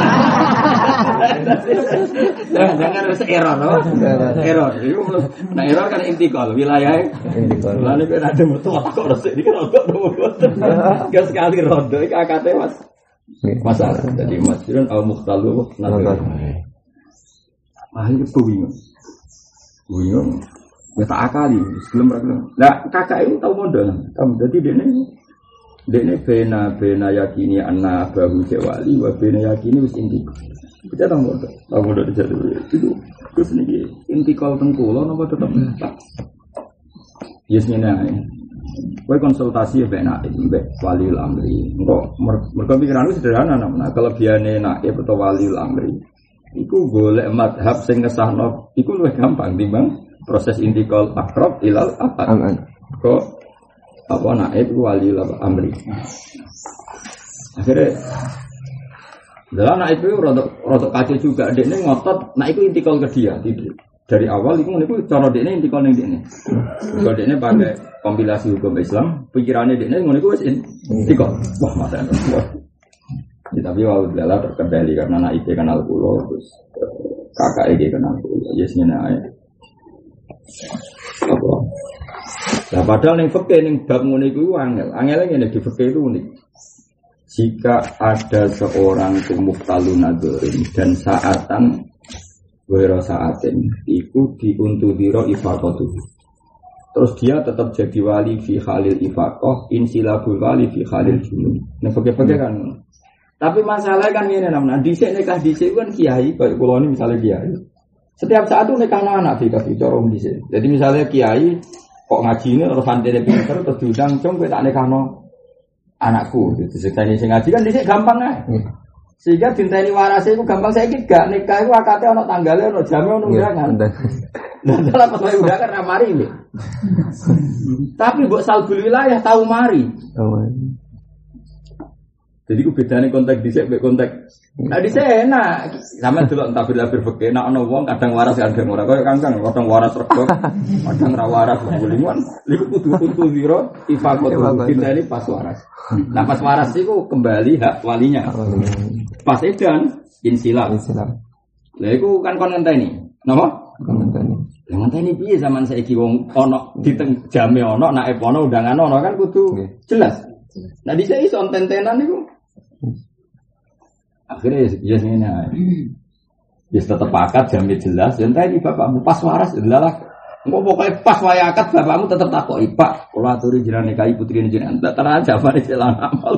Jangan harus error, no? Error. Iku nah error kan intikal wilayah. Intikal. Lalu kan ada mertua kok resik iki rodok gak sekali rondo iki akate Mas. Masalah. Jadi masjidun au muhtalu nazar. Ah itu bingung. Bingung. Ya tak akali, sebelum berkenal. Nah kakak itu tahu modal. Jadi dia bena yakini anak bahu jawali, wa bena yakini wis intikal. Kita tahu modal jadi itu terus nih intikal tengkulo, nopo tetap tak. Yes nih Kau konsultasi bena waliul amri. Mereka pikiran itu sederhana namanya. Kelebihannya naib atau waliul amri. Iku golek madhab sing ngesahno. Iku lebih gampang timbang proses intikal akrab ilal abad. Kok apa naib waliul amri. Akhirnya dalam naib itu rodok kacau juga. Dekne ngotot naib itu intikal ke dia. Dari awal itu cara dekne intikal ning dekne. Kalau dekne pakai kompilasi hukum Islam, pikirannya dekne ngono iku wis intikal. Wah, masa ya, tapi walau dalam terkendali karena naib kenal kulo terus kakak kenal kulo. Yes ngene ae. Apa? Nah padahal ning fikih ning bab ngono iku angel. Angele ngene di fikih itu unik. Jika ada seorang muhtalun nadzorin dan saatan wira saatin iku diuntudiro ifaqatuh. Terus dia tetap jadi wali fi khalil ifaqah, insilabul wali fi khalil junun. Nek fikih kan. Tapi masalahnya kan ngene namanya dhisik nikah dhisik kan kiai kayak kula ini misalnya kiai. Setiap saat itu nikah anak dikasih cara dhisik. Jadi misalnya kiai kok ngaji ini terus santene pinter terus diundang cung kowe tak nikahno anakku. Diceritani sing ngaji kan dhisik gampang ae. Sehingga dinteni warase iku gampang saiki gak nikah iku akate ana tanggale ana jame ana undangan. Lah dalam pas undangan ra mari lho. Tapi mbok salbul wilayah tahu mari. Jadi ku bedane konteks dhisik mek konteks. Nah dhisik enak. Sampe delok tabir-tabir fikih enak ana wong kadang waras kadang ora kaya kangkang, kadang waras rego, kadang ra waras bulingan. Iku kudu zero ifaqatu dinteni pas waras. Nah pas waras iku kembali hak walinya. Pas edan insilab. Lah iku kan kon ngenteni. Napa? Ngenteni. Lah ngenteni piye zaman saiki wong ana di jame ana naib ana undangan ana kan kudu jelas. Nah dhisik iso tentenan niku. Akhirnya ya ngene ae. Wis tetep akad jame jelas, ngenteni bapakmu pas waras adalah engko pokoke pas wae akad bapakmu tetep takoki, Pak, kula aturi jenengan nikahi putrine jenengan. Tak terang jawabane celan amal.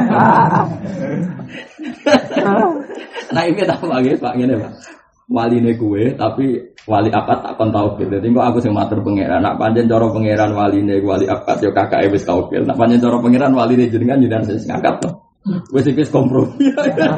Nah iki tak wae Pak ngene, Pak. Waline kuwe tapi wali akad tak kon tauhid. Dadi kok aku sing matur pangeran. Nek pancen cara pangeran waline wali akad yo kakake wis tauhid. Nek pancen cara pangeran waline jenengan sing akad to. Wis iki kompromi.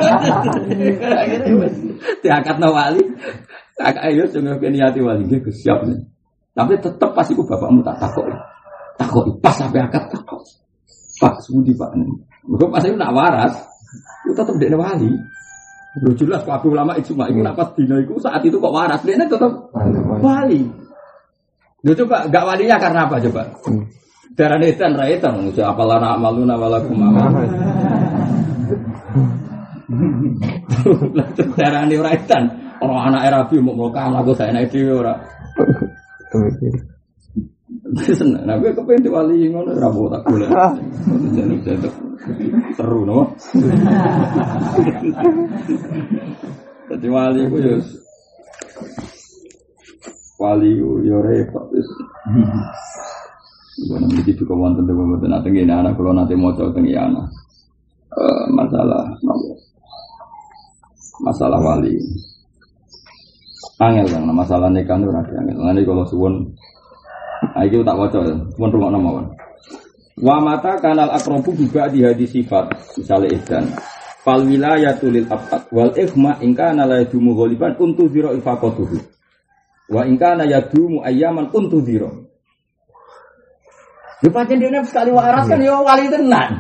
Diakatno wali. Kakake yo sing niati wali iki siap. Tapi tetep pas iku bapakmu tak takoki. Takoki pas sampe akad takoki. Pak Sudi Pak. Mergo pas iku nak waras, itu tetep dekne wali. Lu jelas kabeh ulama ijma iku napas dina iku saat itu kok waras dene tetep wali. Lho coba enggak walinya karena apa coba? Darane edan ra edan mesti apalana amaluna walakum amal. Darane ora edan, ora anak Rabi mau aku saya nek dhewe ora. Seneng, nah gue kepengen diwali ngono rambut tak boleh. Jadi seru no. Jadi wali gue yo, wali yo repot. Gue nanti gitu kawan tentang nanti gini anak kalau nanti mau coba tinggi anak masalah wali. Angel kan, masalah nikah itu angel. Nanti kalau suwon iki tak waca, mun rungokno mawon. Wa mata kanal akrobu juga di hadis sifat, misale edan. Fal wilayatul lil abad wal ikhma in kana la yadumu ghaliban untu zira ifaqatuhu. Wa in kana yadumu ayyaman untudhira. Yo pancen dene sekali waras kan yo wali tenan.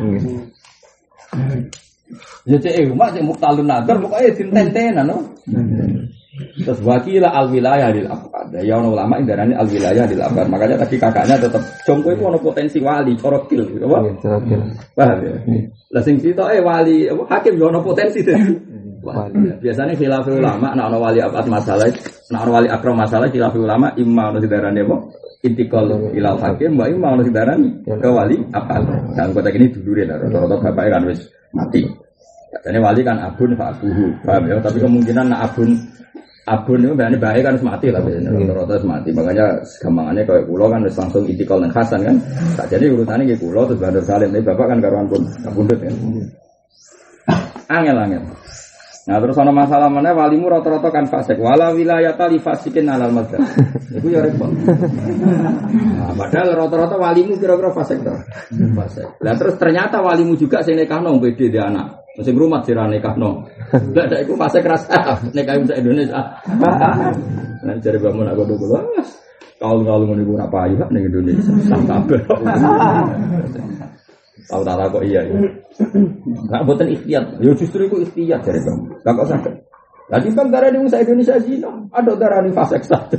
Ya cek umat cek muktalun nadar pokoke dinten-tenan no. Terus wakila al-wilayah lil afqad. Ya ono ulama indarane al-wilayah lil afqad. Makanya tadi kakaknya tetap jongko itu ono potensi wali, corokil gitu apa? Paham ya? Lah sing sitoke wali hakim yo ono potensi dadi wali. Biasanya khilaf ulama nek ono wali abad masalah, nek ono wali akram masalah khilaf ulama imma ono didarani apa? Intikal ilal hakim wa imma ono didarani ke wali abad. Sang kota ini dulure lah rata-rata bapake kan wis mati. Katanya wali kan abun fa abuhu. Paham ya? Tapi kemungkinan nak abun itu berarti baik kan mati lah biasanya rata-rata mati. Makanya gampangannya kayak kulo kan harus langsung intikal nang Hasan kan. Tak jadi urusannya kayak kulo terus Bandar Salim. Tapi bapak kan karuan pun kabundut kan. Angel. Nah terus ada masalah mana walimu rata-rata kan fasik. Wala wilayata li fasikin alal mazhab. Itu ya repot. Nah, padahal rata-rata walimu kira-kira fasik toh. Fasik. Lah terus ternyata walimu juga sing nikahno beda dia anak. Sing rumah sira nikahno. Lah dak iku fasik rasa nikah sak Indonesia. Nah jare bangun aku dulu. Kalau ngene iku ora payu ning Indonesia. Sampai. Tahu tak kok iya. Enggak boten ikhtiyat. Ya justru iku ikhtiyat jare kamu. Lah kok sakit. Lah timbang darah di Indonesia zina, ada darah di fasek satu.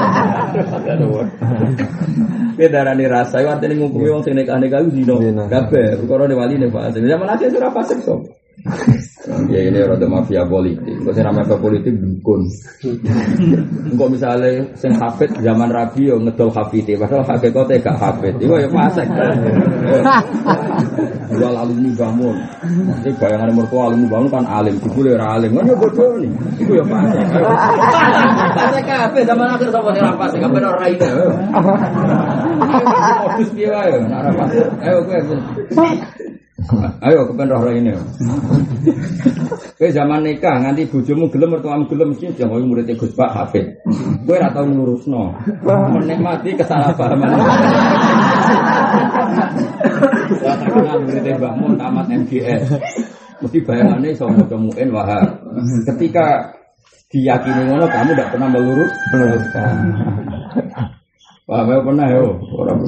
Dia darah di rasa, itu artinya ngukumi orang sing nikah-nikah zina. Kabeh, perkara di wali nih fasek. Zaman aja sudah fasek sob. Ya ini rada mafia politik. Kok sing namanya politik dukun. Engko misale sing hafid zaman Rabi yo ngedol hafite, padahal hakikate gak hafid. Iku ya fasek. Jual alumni bangun. Iki bayangane mertua alumni bangun kan alim, dibule ora alim. Kan yo bodoh ni. Iku ya fasek. Fasek kabeh zaman akhir sapa sing ra fasek, kabeh ora ide. Modus piye wae ora fasek. Ayo kowe. Ayo kepen roh ini. Kowe zaman nikah nganti bojomu gelem mertuamu gelem mesti jangan murid Gus Pak Hafid. Kowe ora tau ngurusno. Menikmati kesalahpahaman. Terkenal murid Mbah Mun tamat MGS. Mesti bayangane iso maca muin wahab. Ketika diyakini ngono kamu tidak pernah meluruskan. Wah, saya pernah yo, orang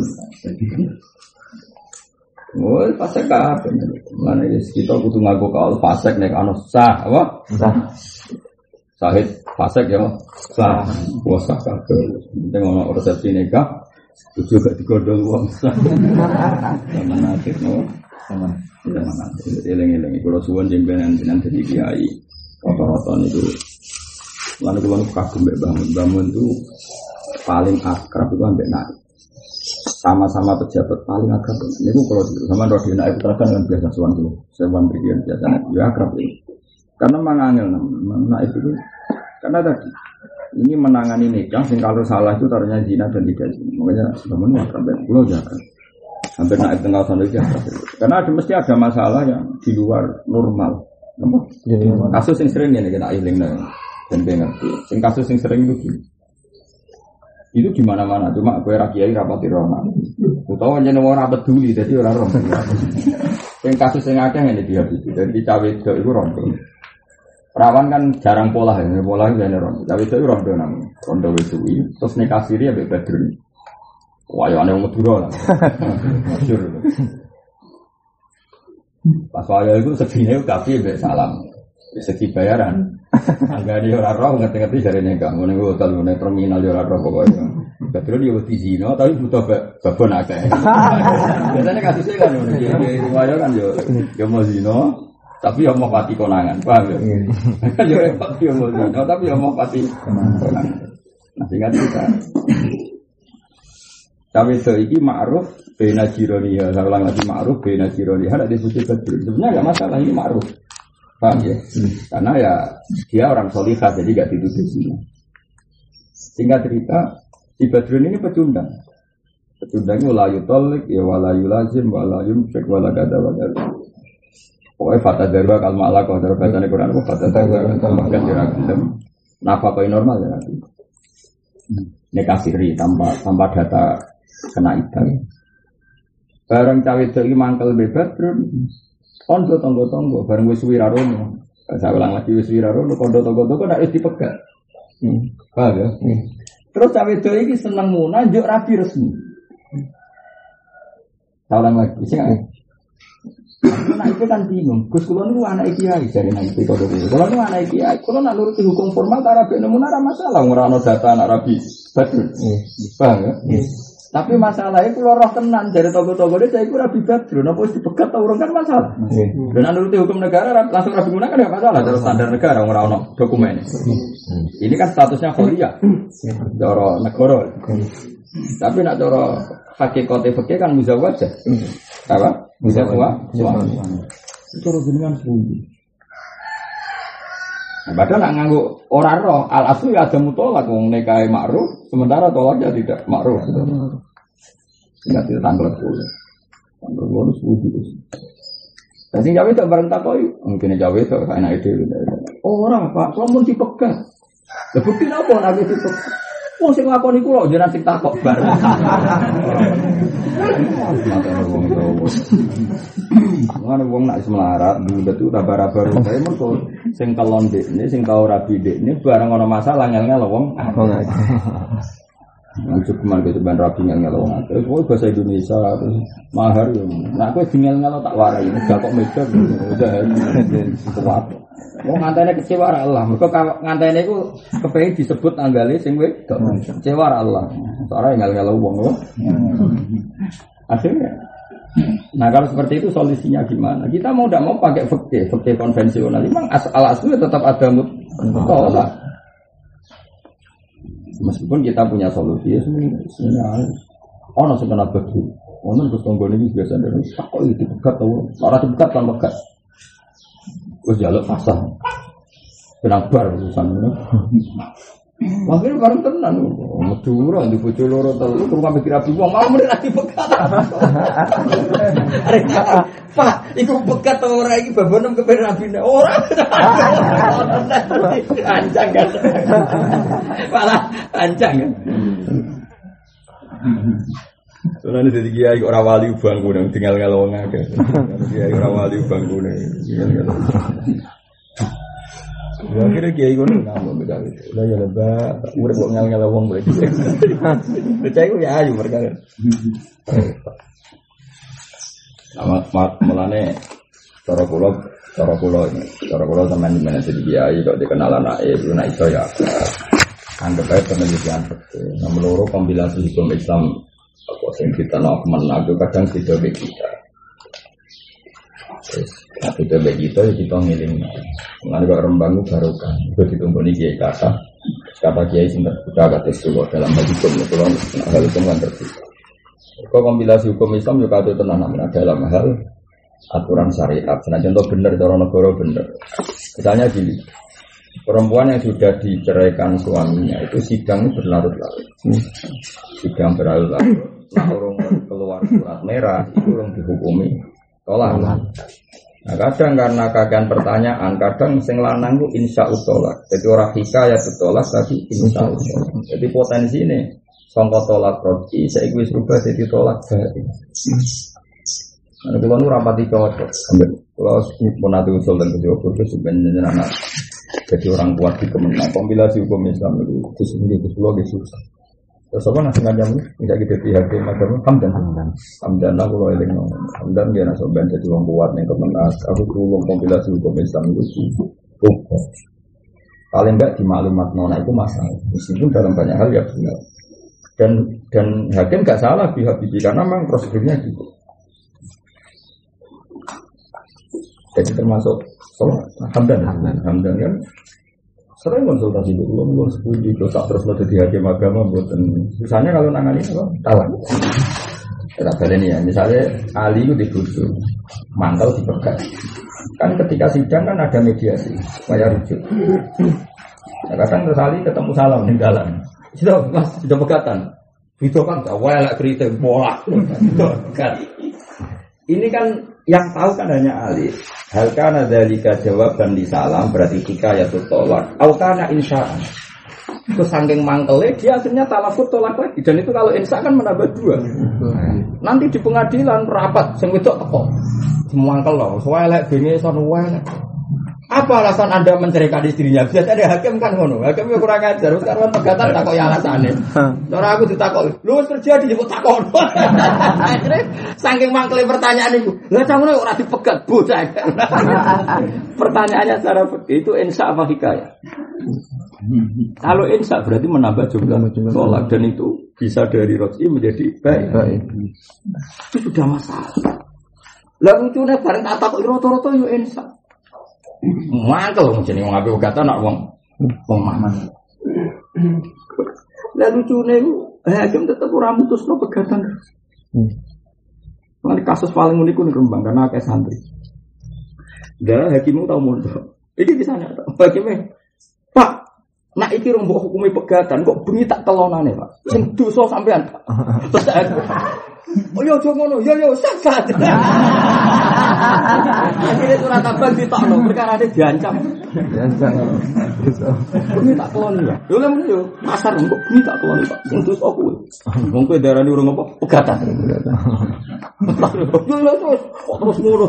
oh, fasek apa? Mana kita butuh ngaku kau fasek nek anu sah, apa? Sah. Sahid fasek ya, sah. Wah sah kabeh. Tengok resepsi nikah, juga digondol wong sah. Mana akhir no? Sama. Mana? Eleng-eleng. Kalau suwon jembenan dadi kiai, rata-rata niku. Lalu kalau kagum bangun itu paling akrab itu ambek naik. Sama-sama pejabat paling akrab. Ini kalau sama Rodin naik putra kan biasa suan dulu. Sewan berian biasa ya akrab ini. Karena mangangil naik itu karena tadi ini menangani nikah. Sing kalau salah itu taruhnya zina dan tidak zina. Makanya sebenarnya akrab dan pulau jaga. Hampir naik tengah sana itu akrab. Karena mesti ada masalah yang di luar normal. Kasus yang sering ini kena iling dan ngerti. Sing kasus yang sering itu gini. Itu di mana-mana, cuma gue rakyat rapati rona. Utawa jeneng ora peduli, jadi ora roh. Yang kasus yang akeh ngene dia itu, dari cawe itu rondo. Perawan kan jarang pola ya, pola itu rondo. Cawe itu rondo namanya, rondo wisuwi. Terus nikah siri ya Badrun. Wah, ya aneh Madura lah. Masyhur. Pas waya itu segini kafe mbek salam. Segi bayaran. Angga dia ora roh ngerti-ngerti jare nikah. Ngene ku hotel ngene terminal yo ora roh pokoke. Betul dia wedi zina tapi butuh babon akeh. Biasanya kasusnya kan ngono iki. Riwayat kan yo mau zina tapi yo mau pati konangan. Paham ya? Kan yo repot yo mau zina tapi yo mau pati konangan. Nah singkat cerita. Tapi itu iki ma'ruf bena jironiya. Saya ulang lagi ma'ruf bena jironiya. Ada di buku betul. Sebenarnya enggak masalah ini ma'ruf. Paham ya? Karena ya dia orang solihah jadi gak dituduh zina. Singkat cerita, si Badrun ini pecundang. Pecundangnya la yutolik, ya wala yulazim, wala yumsik, wala gada wala. Pokoknya fata darwa kalma Allah kau darwa bacaan Quran aku fata darwa kalma gada diragam. Nafkah normal ya nanti. Nikah siri tanpa data kena iddah. Bareng cawe itu mangkel bebas Badrun. Kondo tonggo-tonggo, bareng wis wirarono. Saya ulang lagi wis wirarono, kondo tonggo-tonggo ndak wis dipegat. Paham ya? Terus cawe itu iki seneng munah njuk rabi resmi. Tahulah lagi sih kan. Anak itu kan bingung. Gus kula niku anak kiai jare nek iki kok dhewe. Kula niku anak kiai, kula nak nuruti hukum formal ta rabi nemu ora masalah ora ono data anak rabi. Betul. Paham ya? Tapi masalahnya kula roh tenan jare toko-tokone saya iku rabi badru napa wis dipegat ta urung kan masalah. Dan nuruti hukum negara langsung rabi guna kan enggak masalah terus standar negara ora ono dokumen. Ini kan statusnya kholiyah. Cara negara. Tapi nak cara hakikate fikih kan muzawwaj. Apa? Muzawwaj. Itu jenengan suwi. Padahal nak nganggo ora roh al asli ada mutolak wong nikahe ma'ruf sementara tolaknya tidak ma'ruf. Enggak ditanggal dulu. Tanggal dulu suwi. Dan sing jawe tak bareng takoki, mungkin jawe itu enak ide. Ora, Pak, lamun dipegat. Lah bukti napa nek dipegat? Wong sing nglakoni kula jenengan sing takok bareng. Mana wong nak semelarat, budak itu raba-raba rumah. Mereka sing kelon dekne, sing tau rabi dekne, barang ono masalah ngel-ngel wong. Lanjut kemana ke depan rabi ngel-ngel wong. Terus bahasa Indonesia, terus mahar ya. Nah aku ngel-ngel tak warai, gak kok meja, udah kuat. Wong ngantene kecewa Allah. Mergo ngantene iku kepengin disebut tanggale sing wedok. Kecewa Allah. Soale ngel-ngel wong lho. Akhirnya. Nah kalau seperti itu solusinya gimana? Kita mau tidak mau pakai fikih konvensional. Memang asal-asalnya tetap ada mutolak. Meskipun kita punya solusi sebenarnya. Ono sing kena begitu. Ono terus tonggone iki biasa ndek kok iki dipegat to. Ora dipegat kan pegat. Wis jaluk fasah. Kenabar urusan ngono. Makanya bareng tenan. Medura di bojo loro telu rumah mikir abi wong mau mrene lagi pegat. Pak, iku pegat ora iki babonem kepen rabine. Ora. Ancang kan. Malah ancang kan. Soalnya jadi kiai orang wali bangkune tinggal wong akeh. Kiai orang wali bangkune. Ya kira kiai ngono nambah beda itu. Lah ya lebah, urip kok ngel-ngel wong berarti. Percaya ya ayu mereka. Mulane cara kula sampean men jadi kiai kok dikenal anake itu nek iso ya. Anggap ae penelitian betul. Nomor loro kompilasi hukum Islam apa sing kita nak menago kadang kita kita. Tapi bagi kita kita ngiling. Mengenai kok rembang barokah. Itu ditumpuni kiai kata kiai sing terbuka kata sekolah dalam hal hukum itu hal hukum kan terbuka. Kok kompilasi hukum Islam juga ada tenan dalam hal aturan syariat. Nah contoh bener cara negara bener. Misalnya gini. Perempuan yang sudah diceraikan suaminya itu sidang berlarut-larut. Sidang berlarut-larut. Nah orang keluar surat merah itu orang dihukumi tolak. Nah kadang karena kagian pertanyaan, kadang sing lanang itu insya Allah. Jadi orang hikayat tolak tapi insya Allah. Jadi potensi ini sangka tolak roji, saya ikut serubah jadi tolak dari. Nah kalau nu rapati cocok, kalau pun ada usul dan kejauhan itu sebenarnya anak jadi orang kuat di kemenang. Kompilasi hukum Islam itu sendiri susah. Terus apa nasi ngajam tidak gitu pihak macam hamdan lah kalau eling hamdan dia nasi ben jadi orang kuat yang kemenang. Aku tulung kompilasi hukum Islam itu paling enggak di maklumat nona itu masalah. Meskipun dalam banyak hal ya benar. Dan hakim enggak salah pihak karena memang prosedurnya gitu. Jadi termasuk hamdan kan. Sering konsultasi dulu, mulai sepuluh dosa terus lo jadi hakim agama buatan. Misalnya kalau nangani apa? Talak. Kita balik ya. Misalnya Ali itu dibutuh, mantel dipegat. Kan ketika sidang kan ada mediasi, supaya rujuk. Nah, kadang terus Ali ketemu salam di dalam. Sudah pegatan. Itu kan gak welak kritik bola. Ini kan yang tahu kan hanya Ali. Hal kana dzalika jawaban di salam berarti hikayatut tolak. Au kana insa'an. Itu saking mangkele dia akhirnya talafut tolak lagi dan itu kalau insya kan menambah 2. Nanti di pengadilan rapat sing wedok teko. Semangkel lho, welek bengi sono welek. Apa alasan Anda menceraikan istrinya? Biasanya hakim kan ngono. Hakim kurang ajar. Sekarang pegatan takok ya alasannya. Cara aku ditakok, lu terjadi nyebut takok. Akhirnya saking mangkele pertanyaan itu. Lah ngono ora dipegat bocah. Pertanyaannya secara itu insya apa hikayah? Kalau insya berarti menambah jumlah tolak dan itu bisa dari roj'i menjadi baik. Itu sudah masalah. Lah lucunya bareng tak takok roto-roto yo insya. Mangkel wong jenenge wong ape kata nak wong mangan. Lah lucune hakim tetep ora mutusno pegatan. Mane kasus paling unik ning Rembang karena akeh santri. Dah hakimmu tau mondok. Iki bisa nyata. Hakime, Pak, nak iki rong mbok hukumi pegatan kok bengi tak kelonane, Pak. Sing dosa sampean, Pak. Terus oh yo aja ngono, yo sat. Akhirnya surat abang ditokno, perkara dia diancam. Bengi tak keloni ya. Yo lha yo pasar kok bengi tak keloni, Pak. Sing dosa kuwi. Wong kowe darani urung apa? Pegatan. Yo lha terus ngono.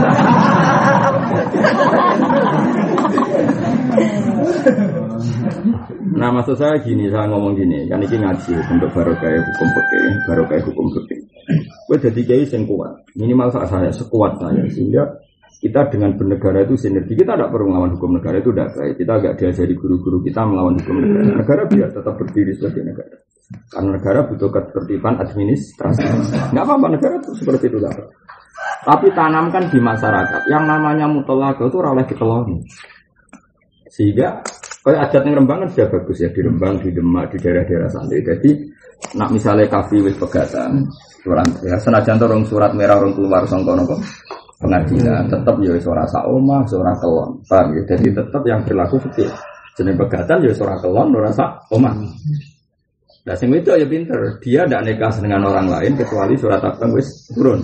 Nah maksud saya gini, saya ngomong gini, kan ini ngaji untuk barokah hukum fikih. Gue jadi kiai sing kuat, minimal saya sekuat saya, sehingga kita dengan bernegara itu sinergi. Kita tidak perlu melawan hukum negara, itu tidak baik. Kita agak diajari guru-guru kita melawan hukum negara. Negara biar tetap berdiri sebagai negara. Karena negara butuh ketertiban administrasi. Nggak apa-apa negara itu seperti itu lah. Tapi tanamkan di masyarakat yang namanya mutolak itu oleh dikeloni. Sehingga kalau adat yang Rembang kan sudah bagus ya, di Rembang, di Demak, di daerah-daerah santri. Jadi nak misalnya kafi wis pegatan, surat ya senajan orang surat merah orang keluar sangkono kok pengadilan, tetap ya suara saoma, suara kelon, paham ya. Jadi tetap yang berlaku fikih. Jenis pegatan ya suara kelon, suara saoma. Nah sing itu ya pinter, dia tidak nikah dengan orang lain kecuali surat abang wis turun.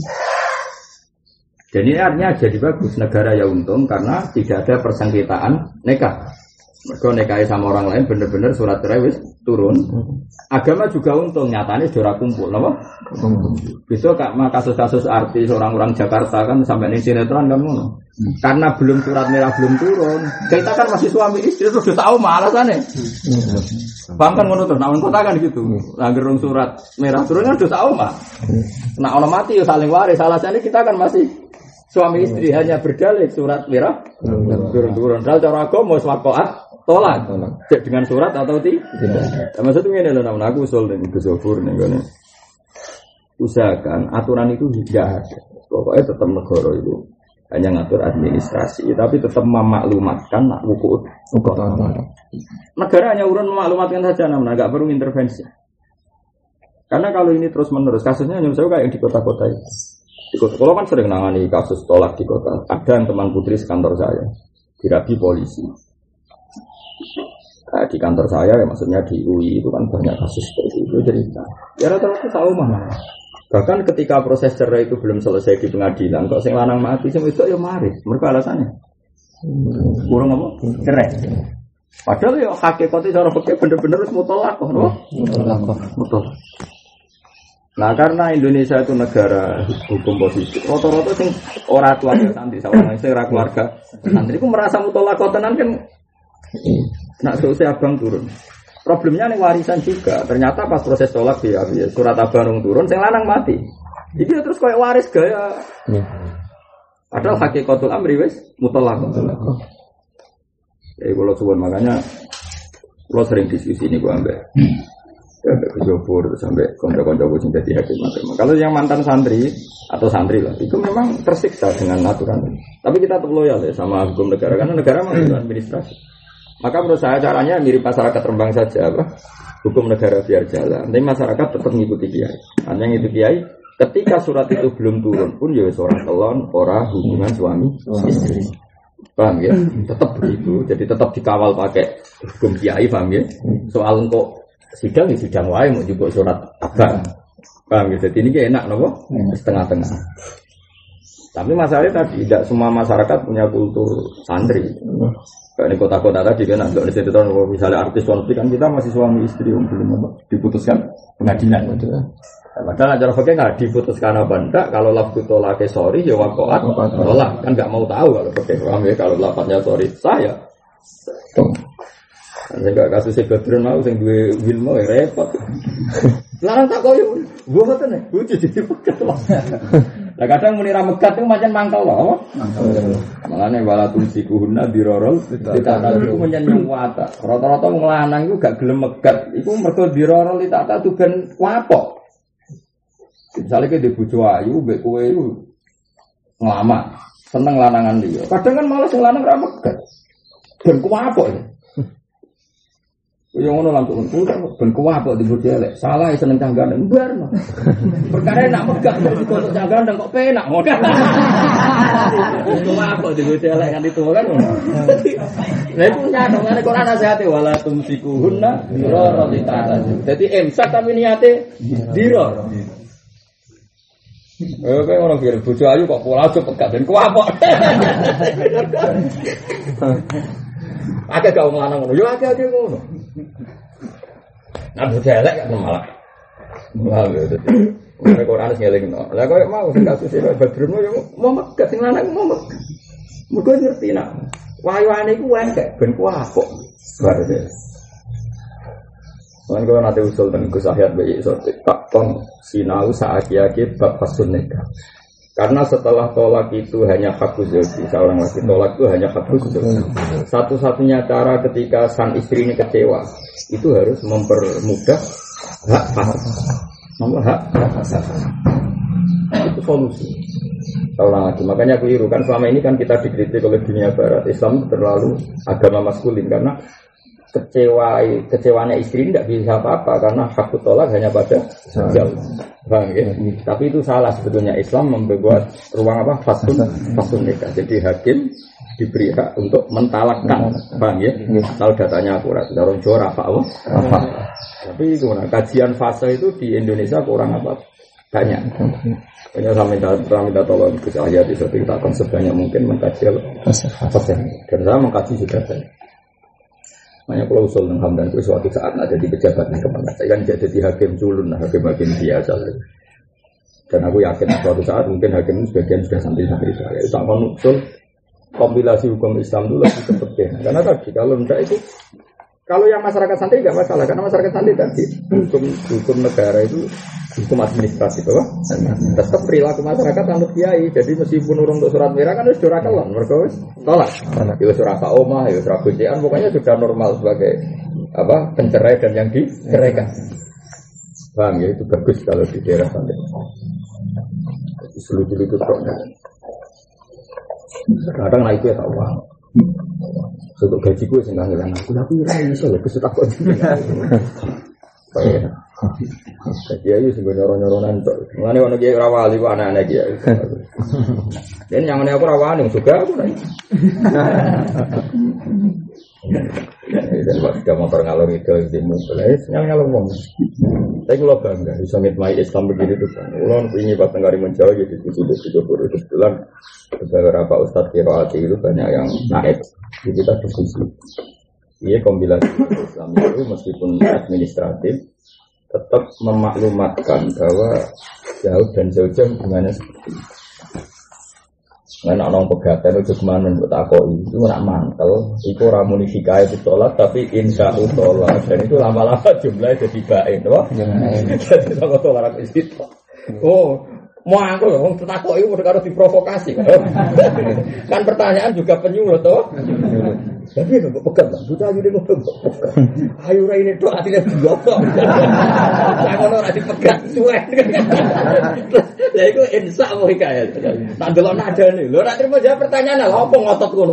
Jadi artinya jadi bagus, negara ya untung karena tidak ada persengketaan nikah. Mereka nikahi sama orang lain bener-bener surat cerai wis turun. Agama juga untung, nyatanya sudah kumpul, apa? Besok kasus-kasus artis orang-orang Jakarta kan sampai ning sinetron kan ngono. Karena belum surat merah belum turun, kita kan masih suami istri terus sudah tahu alasannya. Bang kan ngono terus, namun kota kan gitu. Langgar surat merah turun kan sudah tahu mah. Nah orang mati ya saling waris, alasannya kita kan masih suami istri hanya berdalih surat merah turun-turun. Kalau cara agama wakoat tolak dengan surat atau tidak. Maksudnya ini loh, namun aku usul dan kesofur nih kan. Usahakan aturan itu tidak ada. Pokoknya tetap negara itu hanya ngatur administrasi, tapi tetap memaklumatkan nak hukum. Negara hanya urun memaklumatkan saja, namun agak perlu intervensi. Karena kalau ini terus menerus, kasusnya hanya saya kayak yang di kota-kota itu. Di kota, kalau kan sering nangani kasus tolak di kota. Ada yang teman putri sekantor saya dirabi polisi. Nah, di kantor saya, ya maksudnya di UI itu kan banyak kasus seperti itu cerita. Ya rata-rata tahu mana. Bahkan ketika proses cerai itu belum selesai di pengadilan, kok sing lanang mati, sing wedok ya mari. Mereka alasannya kurang apa? Cerai. Padahal ya hakikatnya cara fikih bener-bener harus mutolak, no? Mutolak. Nah karena Indonesia itu negara hukum positif, rata-rata sing ora keluarga santri, sawangan sing ora keluarga santri, ku merasa mutolak tenan kan. Nak selesai abang turun. Problemnya nih warisan juga. Ternyata pas proses tolak dia surat abang turun, sing lanang mati. Jadi terus kayak waris gaya. Padahal hakikatul amri wis mutolak. Kalau suwon makanya, kalau sering diskusi ini gua ambek. Sampai kejobur, sampai konco-konco sing dadi hakim. Kalau yang mantan santri atau santri lah, itu memang tersiksa dengan aturan. Tapi kita tetap loyal ya sama hukum negara karena negara memang administrasi. Maka menurut saya caranya mirip masyarakat Rembang saja, apa? Hukum negara biar jalan. Tapi masyarakat tetap mengikuti kiai. Hanya yang itu kiai, ketika surat itu belum turun pun ya seorang kelon, orang hubungan suami istri. Paham ya? Tetap begitu. Jadi tetap dikawal pakai hukum kiai, paham ya? Soal kok sidang ya sidang wae mau juga surat abang. Paham ya? Jadi ini enak nopo? Setengah-tengah. Tapi masalahnya tadi tidak semua masyarakat punya kultur santri. Kayak di kota-kota tadi kan ada di situ misalnya artis wanita kan kita masih suami istri yang belum diputuskan pengadilan. Padahal acara fakir nggak diputuskan apa enggak. Kalau lafzu tolak sorry ya wakoat tolak kan nggak mau tahu kalau fakir paham ya kalau lafaznya sorry saya. Sehingga kasusnya Badrun mau sing duwe ilmu repot. Larang tak koyo, gua ngoten nek lucu jadi pegat lah. Lah kadang muni ra megat itu macam mangkel loh. Makane wala tumsikuhunna dirorol ditata iku menyen wata. Rata-rata wong lanang iku gak gelem megat. Iku mergo dirorol ditata tu ben wapok. Misalnya kita di bojo ayu, mbek kowe itu ngelama, seneng lanangan dia. Kadang kan malah sing lanang ra megat. Ben kuwapok ya. Yang ngono langsung ben kuwapok di bojo elek. Salah seneng canggane mbarno. Perkara nak megat kok canggane kok penak ngono. Kuwapok di bojo elek kan itu kan. Lah iku nyadongane Quran nasihate wala tumsikuhunna dirorotita. Dadi imsak tapi niate diror. Kayak orang kira bojo ayu kok pola aja pegat dan kuapok. Akeh gak wong lanang ngono. Yo akeh ngono. Nah bojo elek kan malah. Malah dadi. Nek ora ana ngelingno. Lah koyo mau sing kasus e Badrun yo mau megat sing lanang mau megat. Mugo ngerti nak. Wayuane iku engke ben kuapok. Bare. Kan kalau nanti usul dan Gus Ahyad bayi sotik tak ton sinau saat yaki bab fasun nikah. Karena setelah tolak itu hanya hakuz zauji, seorang laki tolak itu hanya hakuz zauji. Satu-satunya cara ketika sang istri ini kecewa itu harus mempermudah hak fasad. Nomor hak fasad. Itu solusi. Seorang lagi. Makanya keliru kan selama ini kan kita dikritik oleh dunia barat. Islam terlalu agama maskulin karena kecewanya istri tidak bisa apa-apa karena hak tolak hanya pada jauh, bang ya. Tapi itu salah sebetulnya. Islam membuat ruang apa fasun nikah. Jadi hakim diberi hak untuk mentalakkan, bang ya. Kalau datanya akurat, dorong jora apa? Tapi gimana? Kajian fase itu di Indonesia kurang apa? Banyak. Hanya saya minta tolong ke saya di suatu kita akan sebanyak mungkin mengkaji fase. Dan saya mengkaji juga banyak. Makanya kalau usul dan hamdan itu suatu saat ada di pejabat yang kemana saya kan jadi hakim culun, hakim biasa. Dan aku yakin suatu saat mungkin hakim sebagian sudah santri-santri saya. Itu akan usul kompilasi hukum Islam dulu lebih penting. Karena tadi kalau tidak itu, kalau yang masyarakat santri tidak masalah karena masyarakat santri tadi hukum negara itu hukum administrasi, bahwa tetap perilaku masyarakat anut kiai. Jadi meskipun urung untuk surat merah kan harus surat kelon, mereka tolak. Ya surat omah, ya surat kuncian, pokoknya sudah normal sebagai apa pencerai dan yang diceraikan. Bang ya itu bagus kalau di daerah sana. Seluruh itu terus. Kadang naik itu ya tahu. Untuk gaji gue sih nggak ngilang. Aku tapi rai soalnya kesukaan kok. Kayak. Jadi ayo sih nyoron-nyoronan tuh. Mengenai orang dia rawali, anak-anak dia. Dan yang mana aku rawani juga aku nih. Dan waktu dia motor ngalor itu di mobil, ngalor ngomong. Saya kalau bangga, bisa ngitmai Islam begini tuh. Ulun ini pas tenggari menjauh jadi tujuh puluh bulan. Beberapa ustadz kiroati itu banyak yang naik. Jadi kita diskusi. Ini kombinasi Islam itu meskipun administratif tetap memaklumatkan bahwa jauh dan jauh-jauh hubungannya seperti itu. Nah, orang pegatan itu kemana buat takoi itu nak mantel, itu ramuni hikayat itu tolak, tapi insya Allah tolak dan itu lama-lama jumlahnya jadi baik, loh. Jadi kalau tolak itu, oh. Mau aku loh, takoi itu harus diprovokasi. Kan pertanyaan juga penyuluh toh. Tapi nggak pegang, buta jadi mau pegang. Ayo ini tuh artinya blokok. Jangan orang dipegang, suwe. Lah itu insya Allah kayak. Tak delok nada nih, lo nanti mau jawab pertanyaan lah, apa ngotot kono.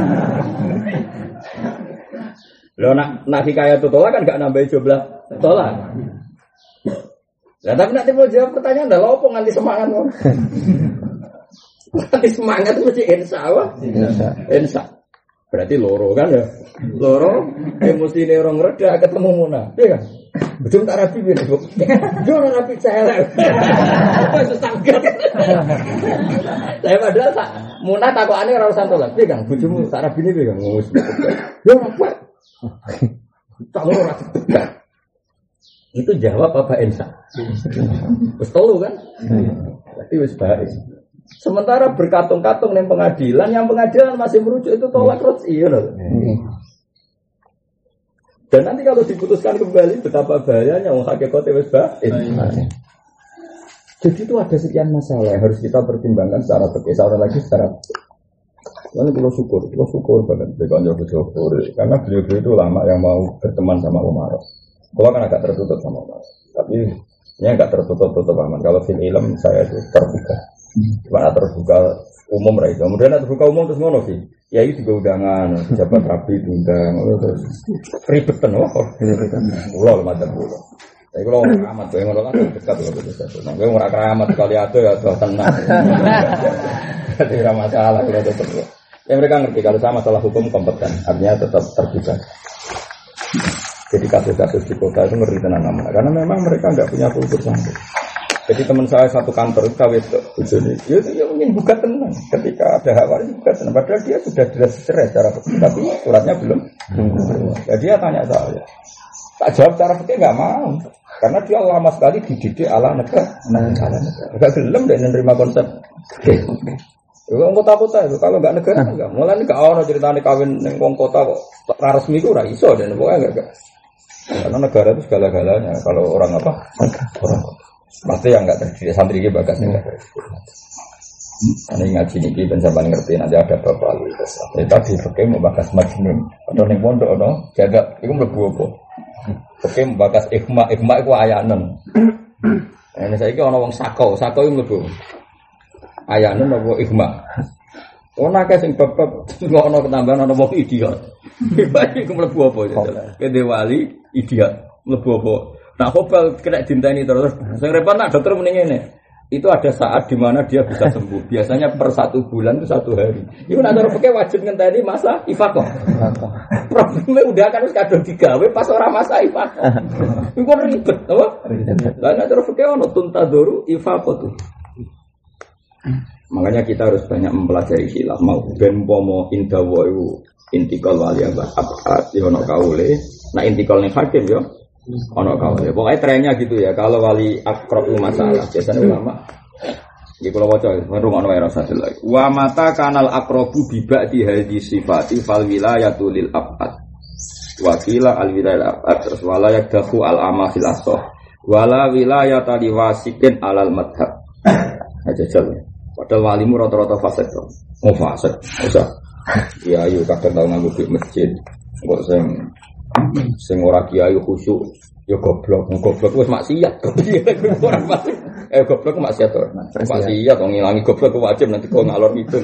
Lo nak hikayat itu tolak kan nggak nambahin jumlah tolak. Nah, tapi nanti mau jawab pertanyaan, dah lopo nganti semangat loh. Nganti semangat mesti insya Allah. Insya. Berarti loro kan ya. Loro, emosi ini orang reda ketemu Muna. Iya kan? Betul tak rapi ini. Jangan rapi saya. Apa sesangkat. Saya padahal Muna takokannya rausan tolak. Iya kan? Bujumu tak rapi ini kan ngomong. Ya apa? Tak loro rapi. Itu jawab apa Ensa? Wis telu kan? Berarti wis baik. Sementara berkatung-katung ning pengadilan, yang pengadilan masih merujuk itu tolak rotsi ya loh. Dan nanti kalau diputuskan kembali betapa bahayanya wong hakikate wis baik. Jadi itu ada sekian masalah yang harus kita pertimbangkan secara fikih, secara lagi secara. Lalu kita syukur banget dengan Jokowi karena beliau itu lama yang mau berteman sama Umar. Kalau kan agak tertutup sama Umar, tapi ini agak tertutup aman. Kalau film ilm saya itu terbuka, cuma terbuka umum itu. Kemudian terbuka umum terus ngono sih. Ya itu juga undangan, pejabat rapi diundang, terus ribetan pulau macam pulau. Tapi kalau orang keramat, gue ngono kan dekat loh betul. Nah, gue orang keramat sekali ada ya sudah tenang. Jadi tidak masalah kalau itu terus. Ya mereka ngerti kalau sama masalah hukum kompeten, artinya tetap terbuka. Jadi kasus-kasus di kota itu ngeri tenang aman, karena memang mereka nggak punya kultur sampai. Jadi teman saya satu kantor itu kawin itu dia mungkin buka tenang. Ketika ada hal itu buka tenang, padahal dia sudah jelas cerai secara fikih, tapi suratnya belum. Jadi dia tanya saya. Tak jawab secara fikih nggak mau, karena dia lama sekali dididik ala negara. Nggak gelem deh menerima konsep. Kalau kota-kota itu kalau nggak negara nggak. Mulai nggak orang ceritanya kawin nengkong kota kok resmi itu udah iso dan pokoknya nggak. Karena negara itu segala-galanya. Kalau orang apa? Orang pasti yang nggak terdidik santri ini bagas nggak terdidik. Ini ngaji niki dan sampai ngerti nanti ada bapak lu. Tadi fikih mau bagas majnun. Atau neng pondok no jaga itu mlebu apa? Fikih mau bagas ikhma itu ayanan. Ini saya kira orang sako itu mlebu. Ayanan apa ikhma. Ono akeh sing bab-bab ngono ketambahan ana wong idiot. Baik iku mlebu apa ya. Kene wali idiot mlebu apa. Nah, hobal kena dinteni terus. Sing repot nak dokter muni ngene. Itu ada saat di mana dia bisa sembuh. Biasanya per 1 bulan itu 1 hari. Iku nek cara fikih wajib ngenteni masa ifaqah. Problemnya udah kan wis kadung digawe pas ora masa ifaqah. Iku ribet, apa? Lah nek cara fikih ono tuntadoru ifaqah tuh. Makanya kita harus banyak mempelajari khilaf. Mau ben pomo indawa iku intikal wali abad yo ono kaule. Nah intikal ning hakim yo ono kaule. Pokoke trennya gitu ya. Kalau wali akrab masalah biasanya ulama. Iki kula waca merungokno wae rasa lagi. Wa mata kanal akrabu bi ba'di hadhi sifati fal wilayatu lil abad. Wa qila al wilayah abad terus wala yakdahu al amafil asah. Wala wilayata liwasikin alal madhab. Aja jalan. Padahal walimu rata-rata fasik to. Oh fasik. Usah. Ya ayo kadang tau nganggo di masjid. Kok sing ora kiai khusyuk ya goblok. Goblok wis maksiat. Goblok ora fasik. Goblok maksiat to. Maksiat wong ngilangi goblok wajib nanti kok ngalor itu.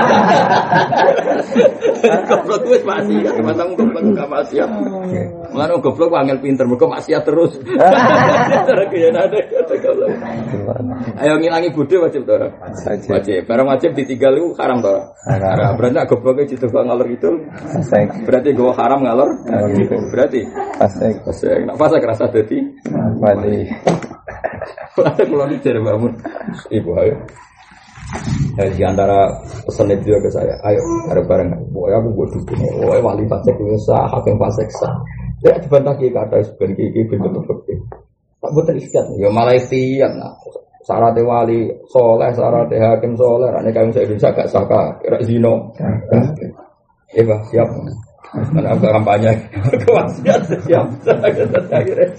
Goblok wis maksiat, matang goblok gak maksiat. Mulane goblok angel pinter mergo maksiat terus. Cara kaya ada goblok. Ayo ngilangi bodho wajib to ora? Wajib. Barang wajib ditinggal iku haram to ora? Haram. Berarti gobloke dicoba ngalor itu. Berarti go haram ngalor. Berarti fasik. Fasik. Nek fasik rasa dadi wali. Kalau dicari bangun, ibu ayo. Di antara pesan itu ke saya, ayo bareng-bareng. Boy aku buat dukung. Boy wali fasik sah, hakim fasik sah. Ya dibantah kata sebagai kiki bentuk fakir. Tak buat istiad. Ya malah istiad. Nah, syarat wali soleh, syarat hakim soleh. Ane kami saya Indonesia gak sah kira zino. Iya siap. Mana aku kampanye kewasiat siap. Akhirnya.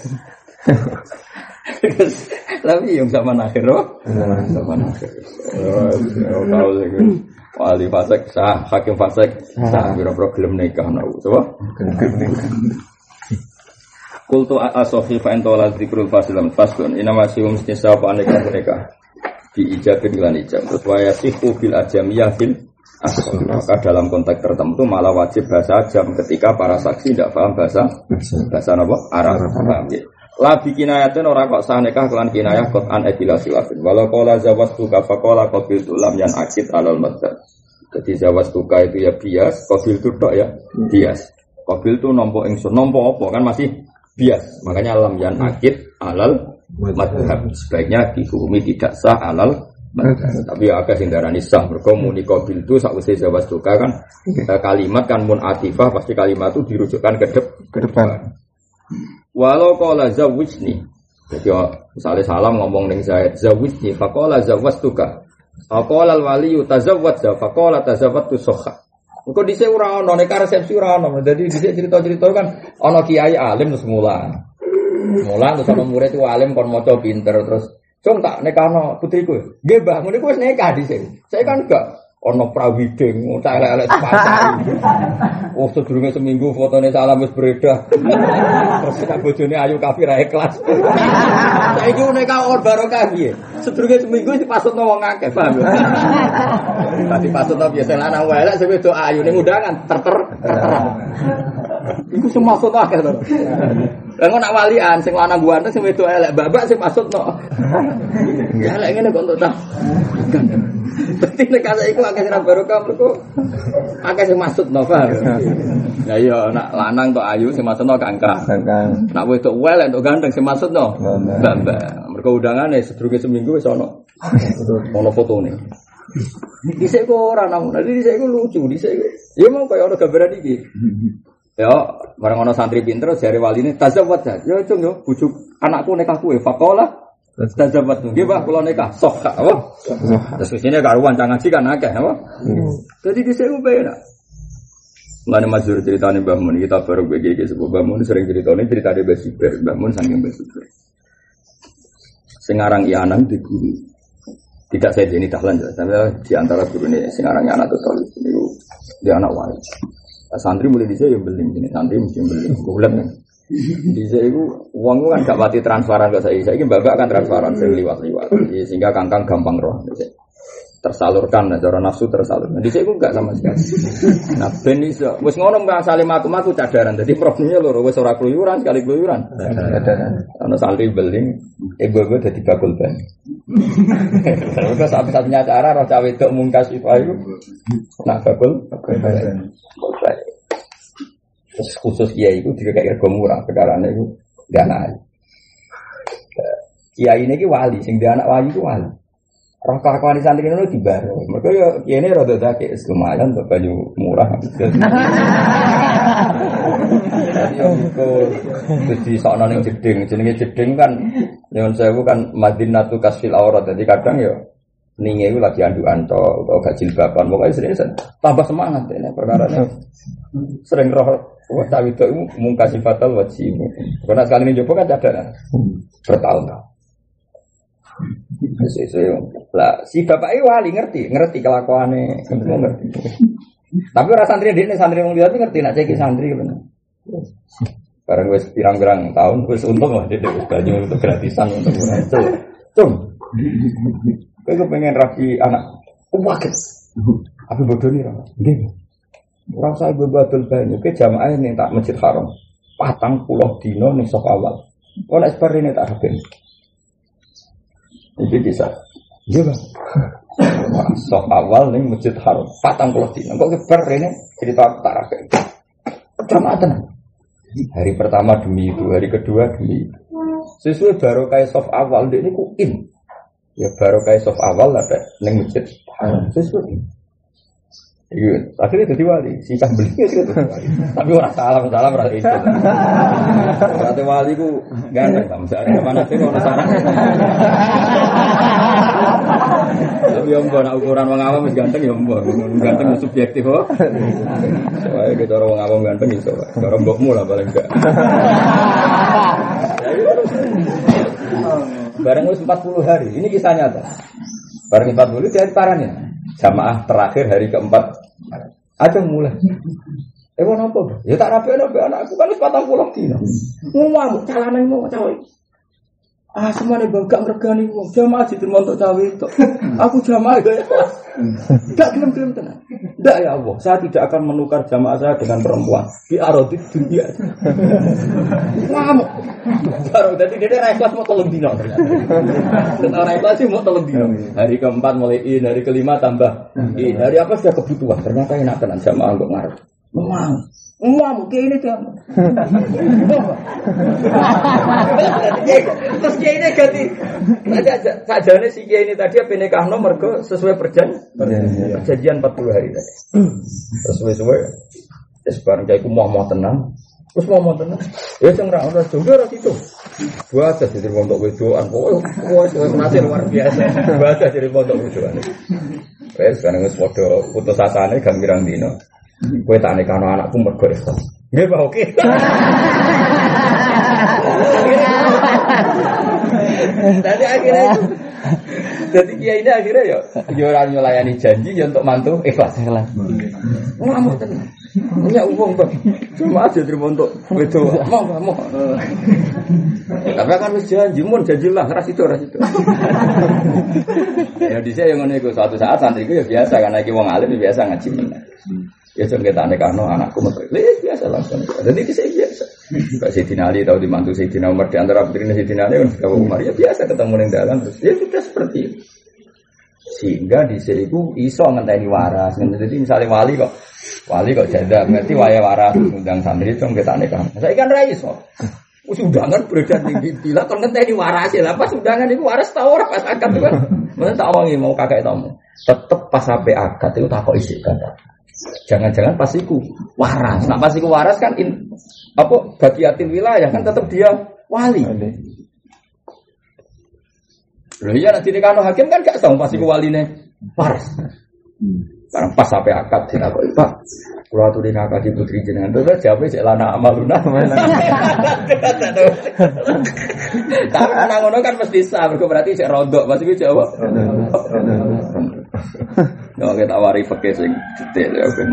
Tapi yang sama akhir sama akhir. Tahu sih. Wali fasik sah, hakim fasik sah. Problem nikah nau, coba. Kultu asofi faintola zikrul fasilam fasun. Ina masih mesti siapa nikah diijabin lan ijab. Terus wayasihu bil ajamiyah fil asal. Maka dalam konteks tertentu malah wajib bahasa ajam ketika para saksi tidak paham bahasa apa? Arab. Paham ya? Labi kinayatun orang kok sah nikah kelan kinayah kot an edilasi wafin. Walau kola zawastuka fakola kobil tulam yang akid alal madhab. Jadi zawastuka itu ya bias, kobil itu tok ya bias. Kobil itu nompo ingsun, nompo apa kan masih bias. Makanya lam yang akid alal madhab. Sebaiknya dihukumi tidak sah alal madhab. Tapi ya agak sindarani sah. Berkomuni kobil itu sausai zawastuka kan kalimat kan mun atifah pasti kalimat itu dirujukkan ke depan. Walau qala zawwijni. Jadi misalnya salam ngomong ning Zaid, zawwijni faqala zawwastuka. Faqala al-waliyu tazawwadza faqala tazawwadtu sokha. Engko dhisik ora ono nek resepsi ora ono. Dadi dhisik cerita-cerita kan ana kiai alim terus mulang. Mulang terus ana murid ku alim kon maca pinter terus cung tak nekano putriku. Nggih, Mbah, ngene ku wis nikah dhisik. Saya kan enggak ono prawiding, tak elek-elek sepasang. Oh, sedurunge seminggu fotone salam wis beredar. Terus nek bojone ayu kafir ae kelas. Saiki nikah or barokah piye? Sedurunge seminggu dipasutno wong akeh, paham ya? Tadi pasutno biasa lanang wae lek sing wedok ayu ning undangan terter. Iku sing maksud akeh to. Lah kok nak walian sing lanang ganteng sing wedok elek babak sing maksudno. Ya lek ngene kok entuk ta. Berarti nek kaya iku akeh sing barokah mergo akeh sing maksudno, paham. Lah iya nak lanang tok ayu sing maksudno kangkang. Nak wedok elek entuk ganteng sing maksudno babak. Mergo undangane sedurunge seminggu wis ono fotone. Dhisik kok ora nang, dhisik iku lucu, dhisik. Ya mau kaya ono gambaran iki. Ya, bareng ana santri pinter jare waline tazawwad. Ya cung yo bujuk anakku nikah kuwe faqala tazawwad. Nggih, Pak, kula nikah. Sok apa? Terus isine karuan cang ngaji kan akeh apa? Dadi dhisik ku penak. Mulane masyhur critane Mbah Mun kita baru iki sebab Mbah Mun sering critane critane Mbah Siber, Mbah Mun saking Mbah Siber. Sing aran Ianang di guru. Tidak saya jadi dahlan, tapi di antara guru ini sing aran anak tutul niku dia anak wali. Santri mulai dhisik ya beling ini, santri mesti beling. Golek. Dhisik iku wong kan gak pati transparan kok saiki mbak-mbak kan transparan sing liwat-liwat. Sehingga kangkang gampang roh. Tersalurkan cara nafsu tersalurkan. Dhisik iku enggak sama sekali. Nah ben iso wis ngono Mbak Salim aku cadaran. Dadi problemnya loro wis ora kluyuran sekali kluyuran. Ana santri beling, ibu-ibu dadi bakul ban. Terus satu-satunya cara roh cawe wedok mungkas iku nak bakul ban. Terus khusus kiai itu juga kayak rego murah perkarane itu enggak naik. Kiai ini wali, sing dia anak wali itu wali. Roh kelakuan di santri itu dibaru. Mereka ya kiai ini rada dake lumayan untuk baju murah. Jadi yang itu di sana yang jeding, jenenge jeding kan, yang saya bukan Madinatu Kasfil Aurat. Jadi kadang ya ninge itu lagi andukan atau gak jilbaban. Pokoknya sering tambah semangat ini perkaranya. Sering roh wajah itu mungkasi fatal wajib. Karena sekali ini coba kan cadaran bertahun-tahun. Lah si bapaknya wali ngerti kelakuannya, ngerti. Tapi orang santri dia santri wong liya ngerti nak ceki santri bener. Bareng wis pirang-pirang tahun wis untung lah dia baju untuk gratisan untuk itu. Cung. Kowe kepengen rapi anak. Waget. Apa bodoh ni ra? Nggih. Ora usah bebatul banyu ke jamaah ning tak Masjid Haram. 40 dina ning sok awal. Kok nek seperti tak rapi. Itu bisa. Iya Bang. Sok awal ning Masjid Haram 40 dina. Kok kebar rene cerita tak rapi. Jamaah tenan. Hari pertama demi itu, hari kedua demi itu. Sesuai barokah sof awal ini ku in. Ya barokah sof awal ada ning Masjid Haram. Sesuai. Iya, akhirnya jadi wali. Si cah beli itu. Tapi orang salam berarti itu. Berarti wali ku ganteng, misalnya mana sih orang saran. Tapi yang buat ukuran orang awam ganteng ya mbok, ganteng subjektif kok. Soalnya kita orang awam ganteng iso, orang mbokmu lah paling enggak. Bareng wis 40 hari. Ini kisah nyata. Bareng 40 dari parane. Jamaah terakhir hari keempat aja mulai. Wono apa? Ya tak rapi anakku kan wis 40 dina. Ngomong calane mau cawe. Ah semane bangga ngregani wong. Jamaah diterima untuk cawe itu. Aku jamaah gaya kelas. Enggak gelem-gelem tenan. Enggak ya Allah, saya tidak akan menukar jamaah saya dengan perempuan. Di arodit dunia. Ngamuk. Baru tadi dia ikhlas mau 3 dina ternyata. Orang ikhlas sih mau 3 dina. Hari keempat mulai in, hari kelima tambah in. Hari apa sudah kebutuhan. Ternyata enak tenan jamaah kok ngarep. Ngamuk kayak ini tuh. Terus kayak ini ganti. Sajane si kiai ini tadi apa nikah nomor ke sesuai perjanjian 40 hari tadi. Sesuai. Terus bareng kiai ku mau tenang. Terus ngomong tenan. Ya sing ra ora juga ora itu. Buat jadi pondok wedoan. Pokoke masih luar biasa. Buat jadi pondok wedoan. Wes kan wis padha putus asane gambirang dino. Kowe tak nekano anakku mergo ikhlas. Nggih, Pak, oke. Tadi akhirnya itu. Jadi kiai ini akhirnya ya orang nyelayani janji ya untuk mantu ikhlas. Ngamuk tenan. Ya uang Bang. Cuma aja terima untuk itu. Mau. Tapi kan wis janji lah ras itu. Ya dhisik yang ngene iku suatu saat santri iku ya biasa karena iki wong alim ya biasa ngaji meneh. Ya jeng kita nekano anakku metu. Biasa langsung. Dan ini saya biasa. Pak Sayyidina Ali tahu dimantu Sayyidina Umar di antara putrinya Sayyidina Ali kan Umar ya biasa ketemu ning dalan terus ya sudah seperti itu. Sehingga di situ iso ngenteni waras. Jadi misalnya wali kok janda ngerti waya waras undang santri itu kita nekano. Saya kan ra iso. Undangan beredar tinggi bila kon ngenteni waras lah pas undangan itu waras ta ora pas akad itu kan. Mun tak omongi mau kakek tamu. Tetep pas sampai akad itu tak kok isih kata. Jangan-jangan pas iku waras. Nah pas iku waras kan bagiatil wilayah kan tetap dia wali. Loh iya nanti dikano hakim kan gak tahu pas iku waline waras. Barang pas sampai akad sing aku Pak. Kula aturi akad di putri jenengan terus jawabe sik lana amaluna. Tapi ana ngono kan mesti sah berarti sik rondok pas iku jawab. Yo kita wari pakai sing detail ya kan.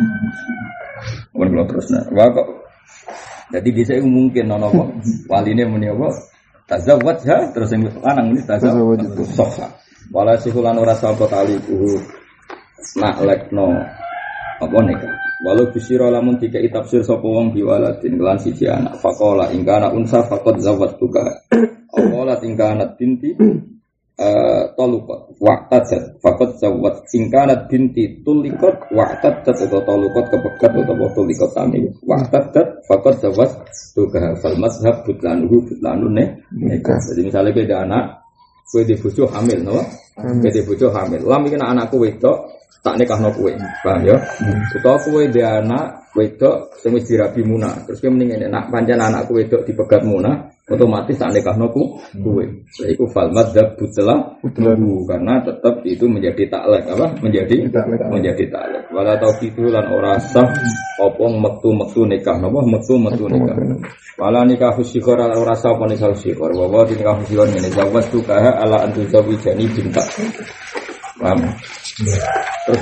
Mun terus nah, kok. Jadi bisa mungkin ono kok waline muni apa? Tazawwaj ya terus sing lanang ini tazawwaj sokha. Wala sihulan ora sapa tali nak lekno apa nikah. Walau bisira lamun dikai tafsir sapa wong biwaladin kelan siji anak. Faqala in kana unsa faqad zawwajtuka. Aqala in kanat binti tolukot waqtat faqad zawwat singkanat binti tulikot waqtat atau tolukot kepegat atau tulikot sami waqtat faqad zawwat tuka fal mazhab butlanun nikah. Jadi misalnya beda anak kowe di bojo hamil no kowe di bojo hamil lam iki anakku wedok tak nikahno kowe paham ya utawa kowe di anak wedok sing wis dirabi munah terus kowe mending nek pancen anakku wedok dipegat munah otomatis tak nikahno kowe. Lha iku fal madzhab butlahu karena tetap itu menjadi taklek apa? Menjadi taklek. Wala tauqitu lan ora sah apa metu nikah napa metu nikah. Wala nikah fusikhara ora sah apa nikah fusikhara. Wa nikah fusikhara ngene jawab tukaha ala antu zawijani binta. Paham? Terus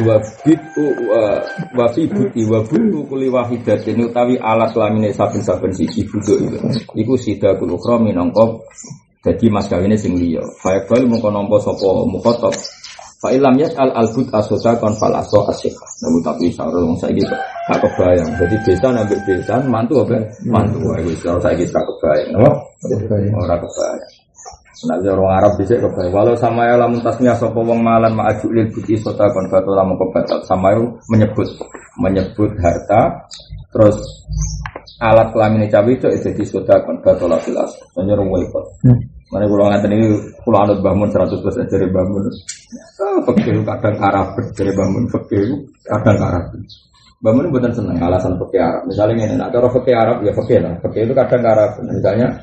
wafibuti kuli wahidatin utawi alas lamine saben-saben siji buduk itu. Iku sidakul ukhra minangka dadi mas kawine sing liya. Fa bal mung nampa sapa mukhatab. Fa ilam yas'al albut asota kon fal aso asyikha. Namun tapi sareng wong saiki gak kebayang. Jadi besan ambek besan mantu apa? Mantu wae wis saiki gak kebayang. Ora kebayang. Nah, orang Arab bisa kebayang. Walau sama ya lamun tasnya sapa wong malan ma'aju lil buti sota kon batal lamun kebatal. Sama itu menyebut harta terus alat kelamin cawe itu jadi sota kon batal filas. Menyeru wipot. Mane kula ngaten iki kula anut bangun 100% dari bangun. Fakir kadang Arab dari bangun fakir kadang Arab. Bangun mboten seneng alasan fakir Arab. Misalnya ngene, nek cara fakir Arab ya fakir lah. Fakir itu kadang Arab. Misalnya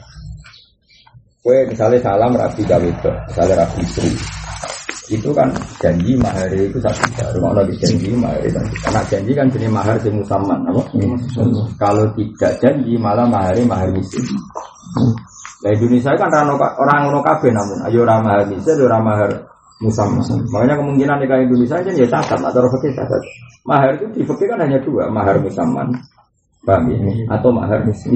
kue misalnya salam rabi gawedo, misalnya rabi istri, itu kan janji mahar itu satu rumah lagi janji mahar itu, karena janji kan jenis mahar si musamman, apa? Kalau tidak janji malah mahar miskin. Nah Indonesia kan orang kafe namun, ayo orang mahar miskin, orang mahar musamman. Makanya kemungkinan nikah Indonesia aja ya catat atau fakir catat. Mahar itu di fakir kan hanya dua, mahar musamman, paham ya? Atau mahar miskin.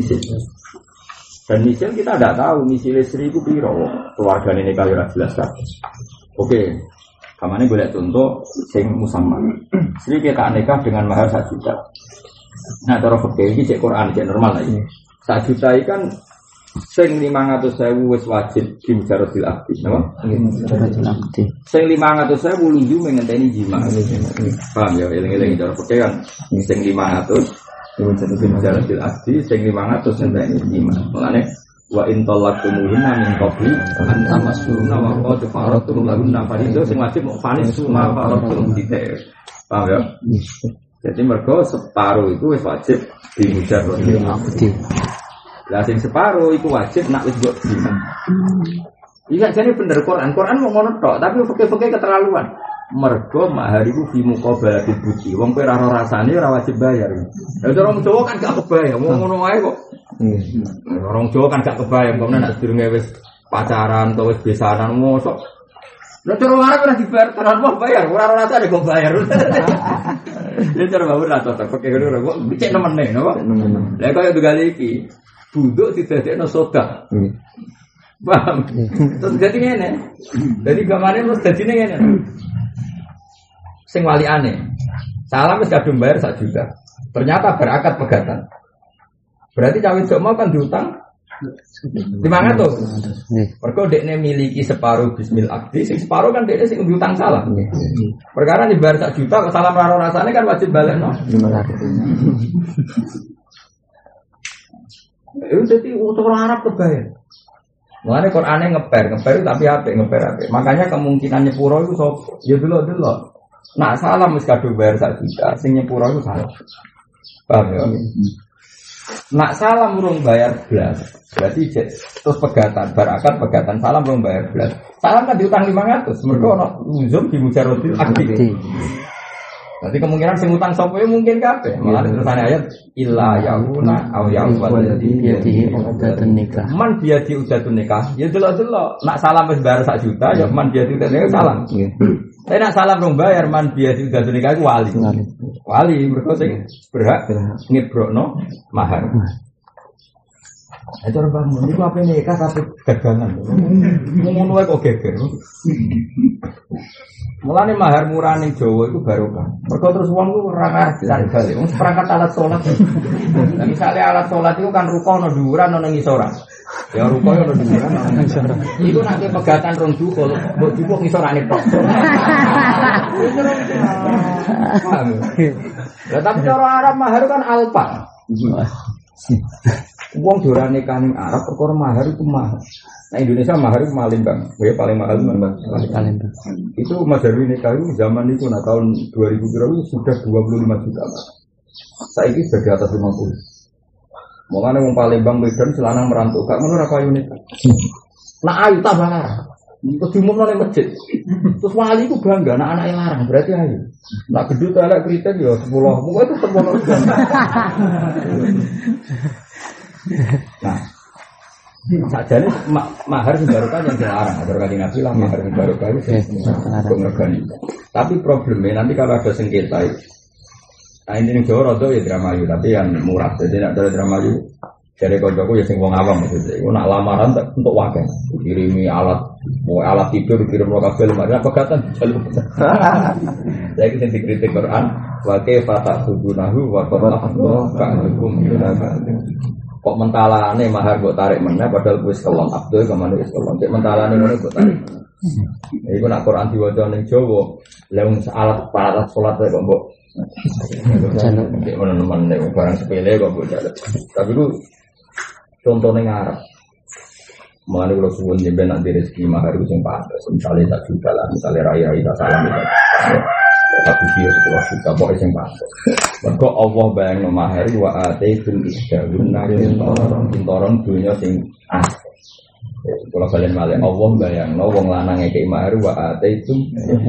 Dan misal kita tidak tahu misalnya 1.000 piro keluarga ini kalau jelas kan. Oke, kamane boleh contoh sing musamman. Jadi kita nikah dengan mahar 1 juta. Nah, cara fikih iki cek Quran cek normal lagi. 1 juta iki kan sing 500.000 wis wajib kimjaratil abdi, napa? Kimjaratil abdi. Sing 500.000 lunju mengenteni jima. Paham ya, eling-eling cara fikih kan sing 500 kimjaratil abdi sing 500 ngenteni jima. Mulane wa in talaqtumuhunna min qabli an tamassuruna wa qad faratum lahunna fariidah sing wajib fanis suma faratum dite. Paham ya? Jadi mergo separuh itu wis wajib dimujarrodil akdi. Lah sing separuh itu wajib nak wis mbok dina. Iya jadi bener Quran mau ngono tok, tapi fikih-fikih keterlaluan. Mergo mahar iku fi muqabalati buci. Wong kowe ora rasane ora wajib bayar. Lah orang Jawa kan gak kebayang, wong ngono wae kok. Orang Jawa kan gak kebayang, kok nek sedurunge wis pacaran atau wis besanan mosok. Lah cara Arab ora dibayar, tenan mau bayar, ora rasane kok bayar. Dia cara bae ora cocok, fikih ngono kok dicek nemene, napa? Lah kaya tunggal iki, buduk didadekno sodak. Paham? Terus jadi ngene. Jadi gamane terus dadine ngene. Sing wali aneh. Salam wis kadung bayar 1 juta. Ternyata berakad pegatan. Berarti cawe jok mau kan diutang 500. Mergo dekne miliki separuh bismil akdi, sing separuh kan dekne sing diutang salam. Perkara dibayar 1 juta kok salam raro rasane kan wajib balekno 500. Itu jadi orang Arab kebayar. Mulane Qur'ane ngeper tapi apik ngeper. Makanya kemungkinan nyepuro itu sop. Ya delok. Nak salam wis kadung bayar 1 juta, sing nyepuro itu salah. Paham ya? Nak salam urung bayar blas. Berarti terus pegatan, barakat pegatan salam urung bayar blas. Salam kan diutang 500, mergo ono uzum di mujarrodil akdi. Berarti kemungkinan sing utang sapa mungkin kabeh. Mulane terusane ayat illa yauna aw ya'wadhi bihi uqdatun nikah. Man biadi uqdatun nikah. Ya delok-delok. Nak salam wis bayar 1 juta ya man biadi uqdatun nikah salam. Tapi nak salam rong bayar man biadi uqdatun nikah iku wali. Wali mergo sing berhak ngebrokno mahar. Itu orang bangun, itu apa nikah tapi gagangan. Ngono wae kok geger. Mulane mahar murah ning Jawa itu barokah. Mergo terus wong ku ora ngerti bali. Wong perangkat alat salat. Lah misale alat salat itu kan ruko ono dhuwuran ono ngisoran. Ya ruko ono dhuwuran ono ngisoran. Iku nek pegatan rong dukul, mbok jupuk ngisorane tok. Lah tapi cara Arab mahar kan alfa. Wong dorane kaning Arab perkara mahar itu mahal. Nah Indonesia mahar itu Palembang. Ya paling mahal Palembang. Itu Mas Darwin nikah itu zaman itu tahun 2000 itu sudah 25 juta. Saiki sudah di atas 50. Makanya wong Palembang Medan selanang merantau gak ngono ra payu nikah. Nak ayu tambah larang. Terus diumumno ning masjid. Terus wali itu bangga anak anake larang berarti ayu. Nak gedut elek kritik ya 10. Pokoke itu 10. Nah, sajane mahar sing barokah yang dilarang. Atur kanjeng Nabi lah mahar sing barokah itu ngregani. Tapi problemnya nanti kalau ada sengketa itu. Nah ini Jawa rada ya dramayu tapi yang murah. Jadi nek ada dramayu jare kancaku ya sing wong awam maksudnya. Iku nak lamaran tak untuk wakil. Kirimi alat tidur kirim lo kabel makanya pegatan jalur. Saya sing dikritik Quran wa kaifa ta'budunahu wa qad ka'alukum kok mentalane mahar kok tarik meneh padahal wis kelon Abdul kemana wis kelon cek mentalane ngono kok tarik. Iku nak Quran diwaca ning Jawa, lha wong alat paralat salat kok mbok jaluk nek menemen nek barang sepele kok mbok jaluk. Tapi ku contone ngarep. Mulane kula suwun jenengan nak rezeki mahar ku sing pantes, misale tak juta lah, misale rai-rai tak salam itu. Satu dia 10 juta pokoknya yang pantas. Mergo Allah bayangno mahar wa ataitul isdalun kintoron dunya sing asli. Kalau kalian malih Allah bayangno wong lanang ngekeki mahar wa ataitul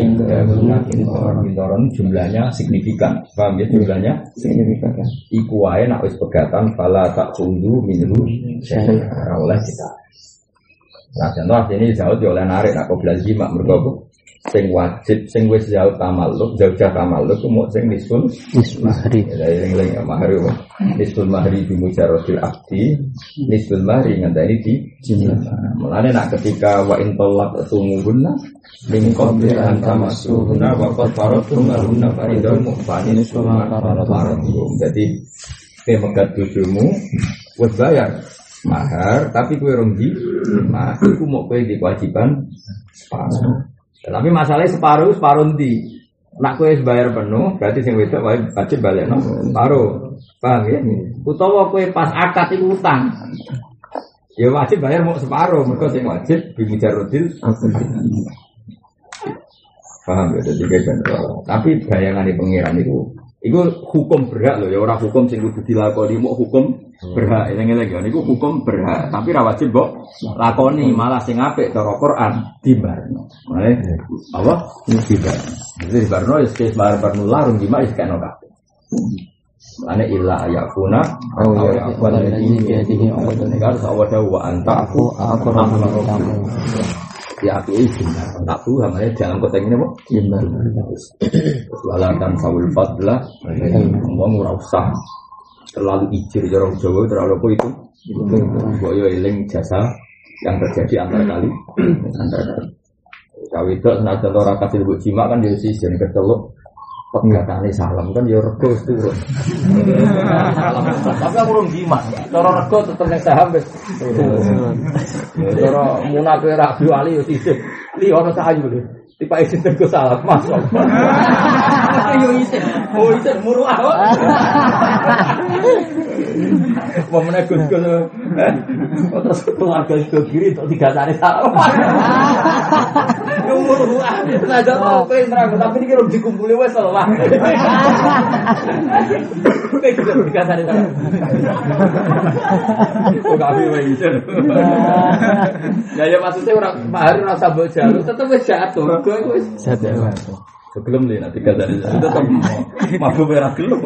kintoron jumlahnya signifikan. Paham ya jumlahnya signifikan. Iku wae nek wis pegatan fala tak kundu minhu syai'a oleh kita. Nah, contoh ini jauh oleh narik nak koblasi mak mergo sing wajib sing wis jauh tamalluk jauh-jauh tamalluk mau sing nisful mahri ya eling-eling mahri nisful mahri bi mujarrodil akdi nisful mahri ngenteni di jumlah. Mulane nak ketika wa in talaq sumuhunna min qabli an tamassuhunna wa qad faradtum lahunna fariidatan mu'fanin suma faradtum. Jadi pemegat bojomu wis bayar mahar tapi kowe rong di mahar iku mok kowe di kewajiban separuh. Tapi masalahnya separuh ndi. Nak kowe bayar penuh, berarti sing wedok wajib balekno separuh. Paham ya? Utawa kowe pas akad iku utang. Ya wajib bayar mau separuh, mergo sing wajib bimujarrodil. Paham ya? Jadi kayak tapi bayangane pengiran itu Iku hukum berhak loh ya, orang hukum sing kudu dilakoni, mau hukum berhak. Eling-eling ya, niku hukum berhak, tapi ra wajib mbok lakoni, malah sing apik cara Quran dibarno. Mane apa? Dibarno. Jadi dibarno ya wis barno larung jima wis kena kabeh. Mane illa ayakuna ya wala ini biadihi negara sawada wa antaku aku ya aku izin tak tahu namanya dalam konteks ini apa? Iman. Walakan sawul fadlah, ngomong ora usah terlalu ijir jorong Jawa terlalu apa itu? Boyo eling jasa yang terjadi antara kali. Kalau itu senajan orang kasih buat jima kan dia sih jadi kecelok. Pegatane salam kan ya rego turun. Tapi aku urung jimat. Cara rego tetep nek saham wis. Cara munafe ra wali yo sithik. Li ono sayu lho. Tipe isin rego salam Mas. Yo isin. Oh isin muruah. Momene Gus-gus. Terus keluarga itu kiri untuk digatane salam. Muruah. Nah jatuh kowe nerang tapi iki rung dikumpuli wis lah. Kowe kudu digatane salam. Kok abi wae isin. Ya maksudnya ora mahar ora sabuk jalur tetep wis jatuh. Rego iku wis jatuh. Sebelum dia nanti kata dia tetap mabuk merah gelap.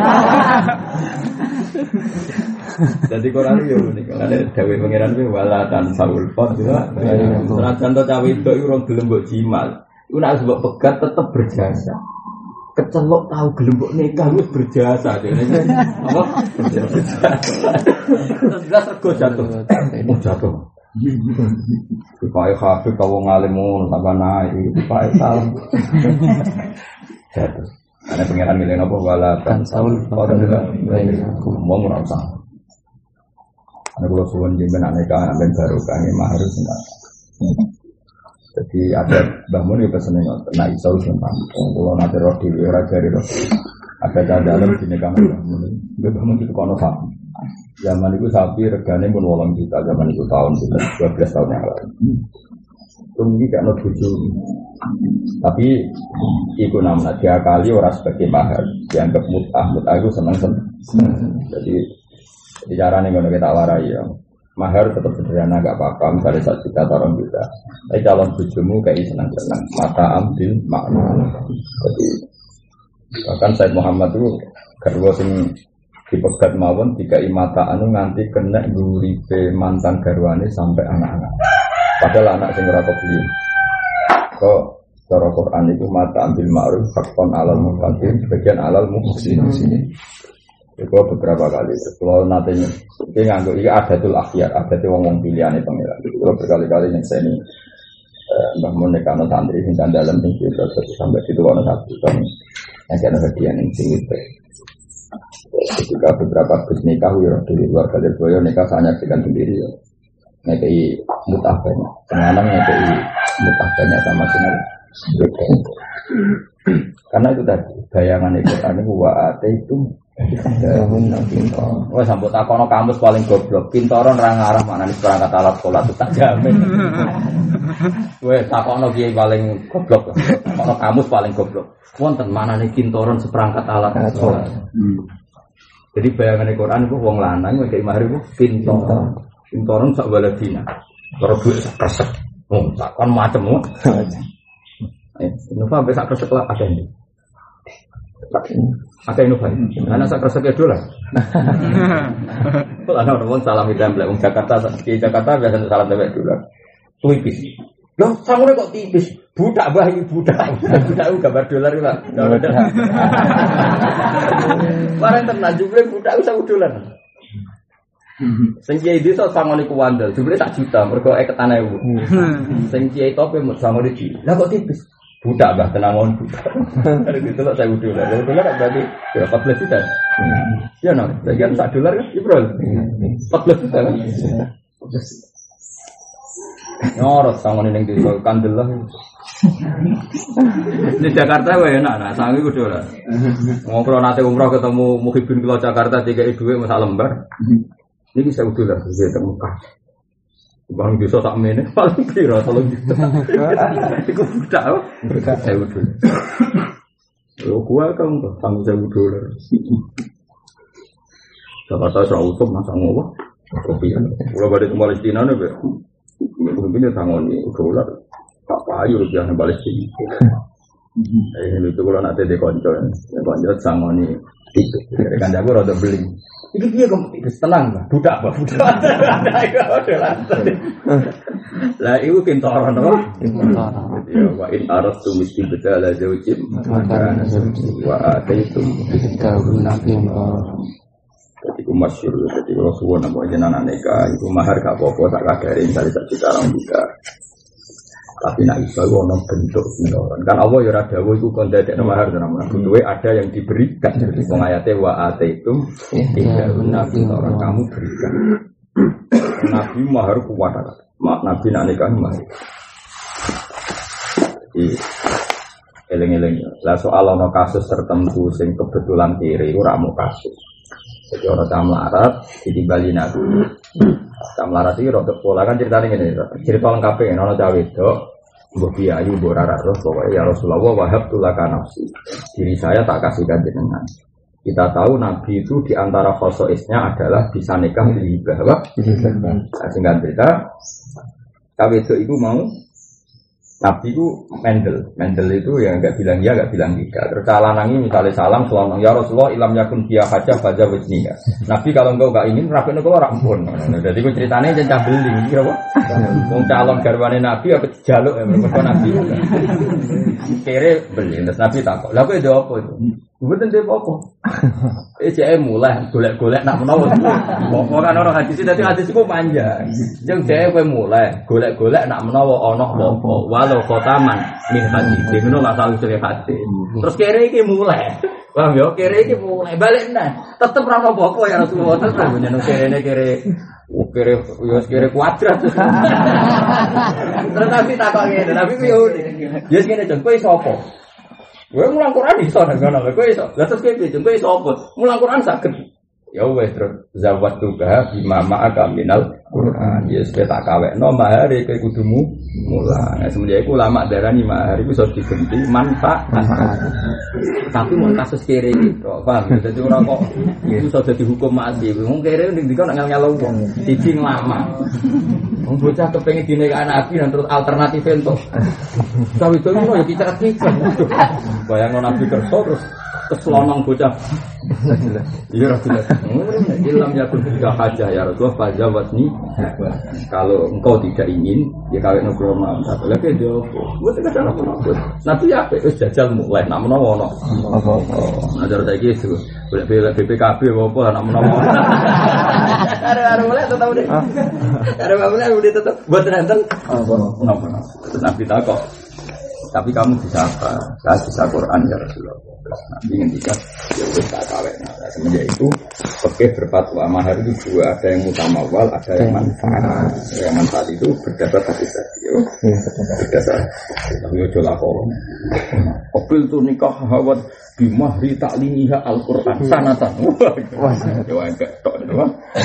Jadi Quran yo unik. Ada dewe pangeran kuwi wala tan saul pot juga. Senajan to cawe itu urung gelem mbok jimal. Iku nek mbok pegat tetep berjasa. Kecelok tahu gelem mbok nikah wis berjasa. Apa? Berjasa. Terus rego jatuh. Oh jatuh. Dipakai hafid kau ngalimun tambah naik dipakai salam jatuh ada pengiran milih apa wala kan saul pada juga mau merasa ada pulau suwon jemben aneka ambil baru kami harus enggak jadi ada bangun itu pesennya nah isau sumpah kalau nanti roh di raja di roh ada dalam sini kami bangun itu kono sapi. Zaman itu sapi regane pun 8 juta zaman itu tahun 12 tahun yang lalu. Ini gak ada tujuh. Tapi itu namanya dia kali orang sebagai mahar dianggap mut'ah itu senang. Jadi caranya kalau kita warai ya mahar tetap sederhana gak apa-apa misalnya 1 juta atau 2 juta. Tapi calon bujumu kayak senang-senang mata ambil makna. Jadi bahkan Said Muhammad itu garwa sing dipegat mawon tiga imata anu nganti kena nguripe mantan garwane sampai anak-anak. Padahal anak sing ora kebeli. Kok cara Quran itu mata ambil ma'ruf hakon alal muqaddim sebagian alal muhsin sini. Itu beberapa kali. Kalau nanti ini nganggo iki adatul akhyar, adatul wong pilihane pangeran. Itu kalau berkali-kali yang saya ini Mbah Mun nekano santri sing dalam sing sampai situ ana satu tahun. Yang ana hadiah ning sing ketika beberapa bus nikah dari luar kader boyo nikah saya nyaksikan sendiri ya ngekei mutah banyak senang ngekei mutah banyak sama sekali karena itu tadi bayangan ikutan itu waate itu wah sampai takono kamus paling goblok pintoron orang arah mana nih perangkat alat sekolah itu tak jamin wah takono kiai paling goblok takono kamus paling goblok wonten mana nih pintoron seperangkat alat sekolah. Jadi bayangan Al-Quran itu wong lanang kayak mahar itu pintoran sak waladina. Kalau duit sak kresek, takkan macam mu. Innova sampai sak kresek lah ada ini. Ada Innova. Karena sak kresek ya dolar. Kalau ada orang salam hitam belakang Jakarta, di Jakarta biasa salam tebak dolar. Tipis. Loh, samure kok tipis? Budak bayi budak gambar dolar iki, Pak. Barang tenan jumlah budak usah dolar. Sing kiai desa sangone ku wandel, jumlah tak juta mergo eketane ewu. Sing kiai tope mut sangone iki. Lah kok tipis? Budak Mbah tenangon budak. Ada gitu lah saya dolar. Dolar berarti 14 juta. Ya no, bagian $1 kan, Bro. 14 juta kan. Nyorot sangone ning desa Kandel lah. Di Jakarta wae enak, nah sangi ku dolar. Ngobrol nate umroh ketemu Muhibin kula Jakarta 3 dhuwit masak lembar. Niki $1 saya temukan. Bang desa sak mene paling piro 3 juta. Iku budak $1. Yo gua kan $1,000. Jakarta sautup masa ngopo? Kopi. Kalau balik ke Palestina nih, mungkin tangan ini $1. Tak payu rupiah nih Palestina. Ini itu kalau nanti dikonco, konco tangan ini itu. Kan jago rada beli. Iki piye kok tenang, budak. Lah iku kintoran to. Ya wa in arastu istibdala zawjin wa ataitum bitawunakum. Jadi ku masyhur jadi kalau suwon apa jenengan nikah iku mahar gak apa-apa tak kadare dari juta juga. Tapi nak iso ono bentuk kintoran. Kan Allah ya ora dawuh iku kon dadekno mahar tenan. Kuduwe ada yang diberikan. Jadi wong ayate wa ataitum bitawunakum kamu berikan. Nabi mahar kuat kan. Nabi nak nikah mahar. Jadi eleng-eleng. Lah soal ono kasus tertentu sing kebetulan kiri ora mau kasus. Jadi orang tamlarat ditimbali Nabi. Tamlarat iki rada pola kan ceritane ngene. Cerita lengkape ono cawe wedok mbok biayu mbok rara terus pokoke ya Rasulullah wahabtu laka nafsi. Diri saya tak kasihkan jenengan. Kita tahu Nabi itu di antara khosoisnya adalah bisa nikah di hibah. Singkat cerita, cawe wedok itu mau Nabi itu mendel itu ya enggak bilang ya enggak bilang tidak. Terus lanangi misalnya salam selonong ya Rasulullah ilam yakun dia haja baca wajniya. Nabi kalau engkau enggak ingin rapinya kalau rampun. Jadi aku ceritanya jangan beli kira apa? Wong calon garwane Nabi apa dijaluk ya mereka Nabi. Kere beli terus Nabi takut. Lah kowe ndek apa itu? Mboten ndek apa. Jek mulai golek-golek nak menawa. Pokok kan orang hadis dadi hadis iku panjang. Jeung dhek kowe mulai golek-golek nak menawa ana apa. Walau khotaman min hadis. Ngono lah salah satu hadis. Terus kere iki mulai. Paham ya? Kere iki mulai balik nah. Tetep ra apa-apa ya Rasulullah tetep nyeneng kere kere kuadrat. Terus tapi takok ngene, tapi yo ya ngene jon kowe sapa? Kowe mulang Quran iso nang ngono, kowe iso. Lah terus kowe iso apa? Mulang Quran saged. Ya wis terus zawat tuga bima ma'aka minal Quran. Ya wis tak kawekno mahar kowe kudumu mulang. Semenjak iku ulama darani mahar iku iso diganti manfaat. Tapi mau kasus kere gitu, paham? Jadi orang kok itu sudah dihukum mati. Wong kere ning dikon nak nyalo wong siji lama. Wong bocah kepengin dinikahi Nabi dan terus alternatif entuk. Sawi itu ya kicat-kicat. Bayangno Nabi kerso terus keselonong bocah. Iya Rasulullah. Ilham yakun tidak hajah ya Rasulullah fajawatni. Kalau engkau tidak ingin ya kawin krono. Lagi dia buat cara apa? Nabi ya wis jajal mulai nak menawa ono. Ajar saiki itu. Boleh BPKB apa nak menawa. Are mulai tetap deh. Are mulai udah tetap buat nonton. Nabi takok. Tapi kamu bisa apa? Saya bisa Quran ya Rasulullah. Nanti ketika ya kita kawin. Nah, semenjak itu fikih berfatwa mahar itu dua, ada yang mutamawal, ada yang manfaat. Yang manfaat itu berdasar hadis tadi. Berdasar. Tapi ojo lakon. Qabil tu nikah hawat bimahri ta'limiha Al-Qur'an sanatan. Wah, enggak tok itu.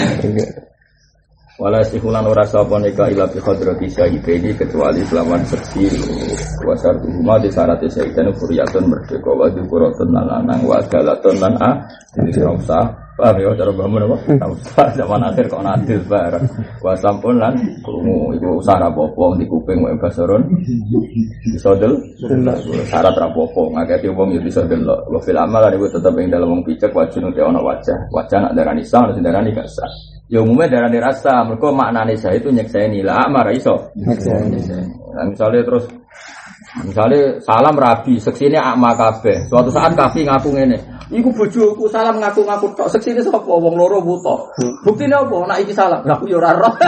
Wala sihulan ora sapa nikah ila bi hadrati syahidini kecuali selawan seksi wasar rumah di syarat syahidane furiyatun merdeka wa dzikuratun lanang wa galatun lan jadi ora usah paham ya cara bangun apa ora usah zaman akhir kok nadil bareng wa sampun lan krungu iku usah apa-apa di kuping wae basaron iso del syarat apa-apa ngaketi wong yo iso delok wa fil amal iku tetep ing dalem wong picek wajib nek ana wajah nak darani sah ana darani gak sah. Ya umumnya darah dirasa, mereka maknanya saya itu nyekseni lah, marah iso. Nah, misalnya salam rabi, seksinya akma kabeh. Suatu saat kafi ngaku ngene, iku bojoku salam ngaku-ngaku tok seksine sapa wong loro buta. Buktine apa? Nek iki salam, aku yo ora roh.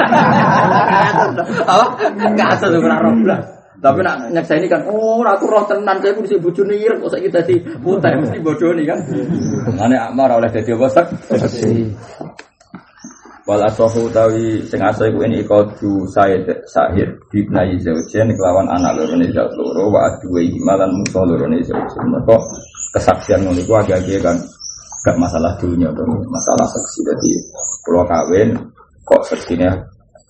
Enggak asal ora roh. Tapi nak nyekseni kan, aku roh tenan saya mesti bojone ireng kok saiki dadi buta mesti bodoni kan. Ngene akma ora oleh dadi apa seksi. Wal asahu tawi sing asa iku ini qadu sahid bibnai zaujen kelawan anak lorone zauj loro wa aduwe malan musa lorone zauj. Mergo kesaksian ngono iku agak-agak kan gak masalah dunia atau masalah saksi. Jadi kula kawin kok seksine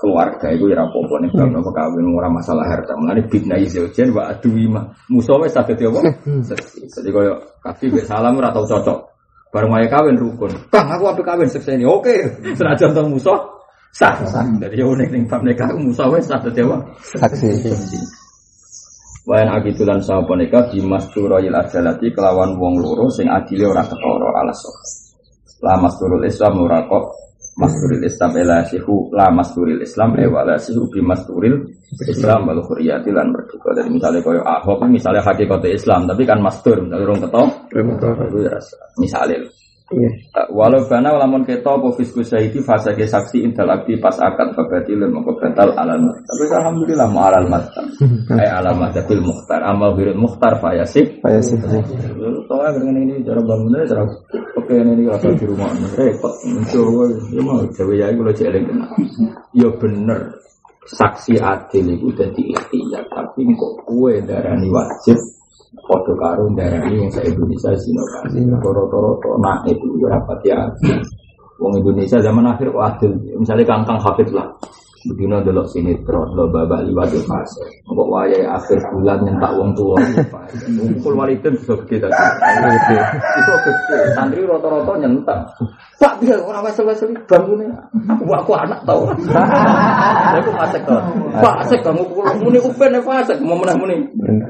keluarga itu ya apa-apa nih kalau mau kawin ora masalah harta. Mulane bidna izaujen wa aduima. Musa wis saged apa? Jadi koyo kafi wis salam ora tau cocok. Bareng wae kawin rukun. Kang aku ape kawin sekseni. Oke. Senajan to Musa sah. Dadi yo ning bab nikah Musa wis saged apa? Saksi. Wayan agitulan sapa nikah dimasturil ajalati kelawan wong loro sing adile ora ketara alasan. La masturul Islam ora kok masturil Islam ela sihu la masturil Islam wala sihu bi masturil Islam wal khuriyati lan merdeka. Jadi misalnya koyo Ahok misalnya hakikat Islam tapi kan mastur misalnya urung ketok itu ya misalnya walau bana lamun keto apa fisku syahidi fase ke saksi intel akti pas akad babatil moko batal alamat. Tapi alhamdulillah ma alal matam ay alamat bil mukhtar amal birul mukhtar fayasik soalnya dengan ini cara bangunnya cara oke ini rasa di rumah repot mencoba ya mau jawa ya kalau jelek ya bener saksi adil itu dadi ikhtiar tapi kok kue darani wajib foto karun darani yang saya Indonesia sinokan rata-rata nak itu rapat ya wong Indonesia zaman akhir adil misalnya kangkang hafid lah begini delok sinetron lo babak liwat di fase kok wayahe akhir bulan nyentak wong tua ngumpul waliden bisa gede tadi itu gede santri rata-rata nyentak Pak dia orang wesel-wesel bangunnya aku anak tau aku masek tau Pak asek kamu muni upen fasek mau menah muni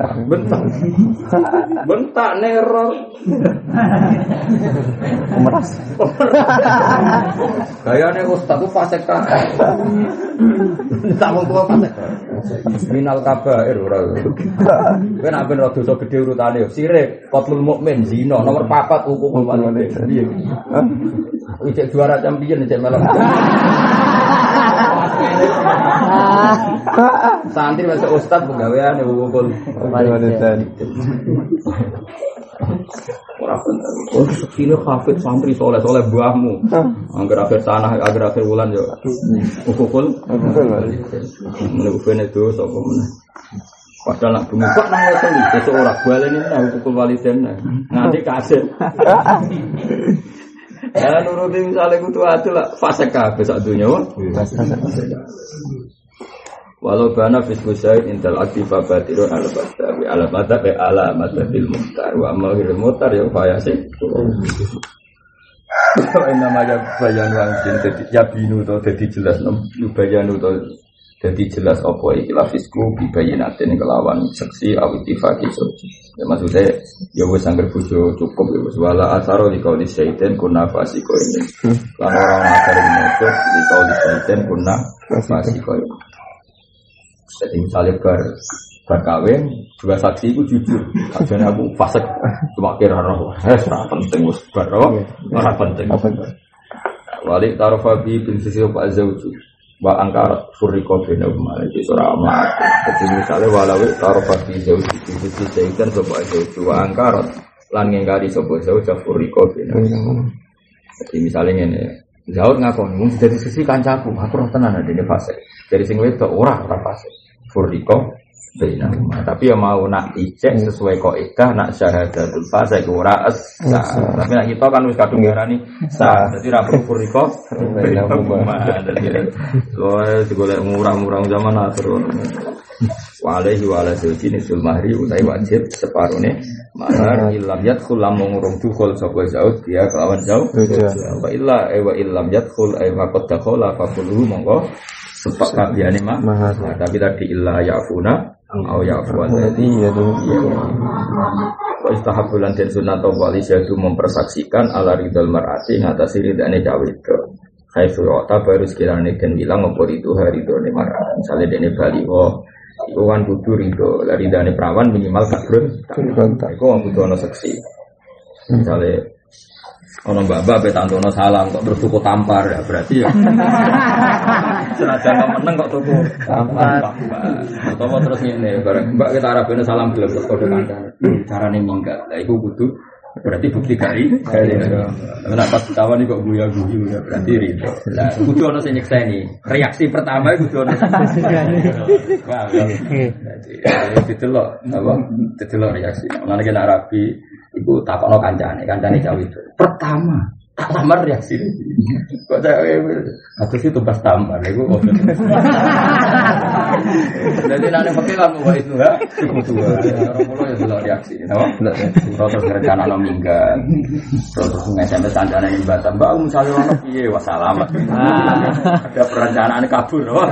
bentak neror meras gayane ustaz ku fasek ta tak wong tua fasek minal kabair ora kowe nek ben dosa gedhe urutane sirik qatlul mukmin zina nomor 4 hukum walide piye ijek juara champion ijek melok santri masuk ustaz pegawaian hukum walide ora bener oh sekine hafid santri soleh-soleh buahmu angger akhir tanah agar akhir bulan yo hukum walide itu sapa meneh padahal nak bumi kok nang wes iki sesuk ora baleni nang hukum waliden nganti kasih ya nuruti misalnya kudu adil lah fase kabeh sak dunya walau bana fisku syait intel aktifa batirun al-batabi al-batabi al-matabil muhtar wa amalil muhtar ya fayasik namanya bayanu angin ya binu to dadi jelas bayanu to dadi jelas apa iki lafisku bibayinatin kelawan seksi awitifaki suci ya maksudnya ya wis angger bojo cukup ya wis wala asaro di kauli syaitan kunna fasiko ini lan orang akar mojo di kauli syaitan kunna fasiko ini jadi misalnya berkawin dua saksi itu jujur akhirnya aku fasik cuma kira roh penting wis baro ora penting wali tarofabi bin sisi pak zauju wa angkarat furriqa bina umma iki surah amat jadi misalnya walau tarofabi zauju sisi syaitan sapa zauju wa angkarat lan ngingkari sapa zauju furriqa bina jadi misalnya ngene Zaud ngakon mung dari sisi kancaku aku roh tenan adene fase dari sing wedok ora fase furriqa bina tapi ya mau nak ijek sesuai kaidah nak syahadatul fase ora sah tapi nak kita kan wis kadung ngarani sah dadi ra perlu furriqa bina dadi golek murah-murah zaman akhir walehi wala sujini sul mahri utai wajib separone mahar illam yadkhul lamun urung dukhul sapa zaud dia kelawan zaud wa illa wa illam yadkhul ay faqad dakhala fa kullu monggo sepak kabehane mahar tapi tadi illa yafuna au yafuan tadi ya wa istahabulan dan sunat wali syadu mempersaksikan ala ridal mar'ati ngatasi ridane cawe itu khaifu ta baru sekirane den bilang apa itu hari done mar'at misale dene baliho iku kan kudu ridho dari dane perawan minimal kadrun iku kudu ana seksi misale ana mbak-mbak petantono salam kok terus tuku tampar ya berarti ya senajan meneng kok tuku tampar utawa terus ngene bareng mbak kita arabene salam gelem terus kode kandhane carane minggat lha iku kudu berarti bukti kari nek pas kawan iki kok guyu-guyu ya berarti ridho lah kudu ana sing nyekseni reaksi pertama kudu ana wah jadi ditelok apa ditelok reaksi ana nek rapi iku takokno kancane cawe itu pertama Tamar reaksi. Kok atau sih tugas tamar, itu kok. Jadi nanti pakai kamu buat itu ya, cukup tua. Orang pulau ya belum reaksi, tahu? Terus rencana no minggat, terus SMS rencana yang batam. Mbak misalnya orang piye, wassalamat. Ada perencanaan kabur, wah.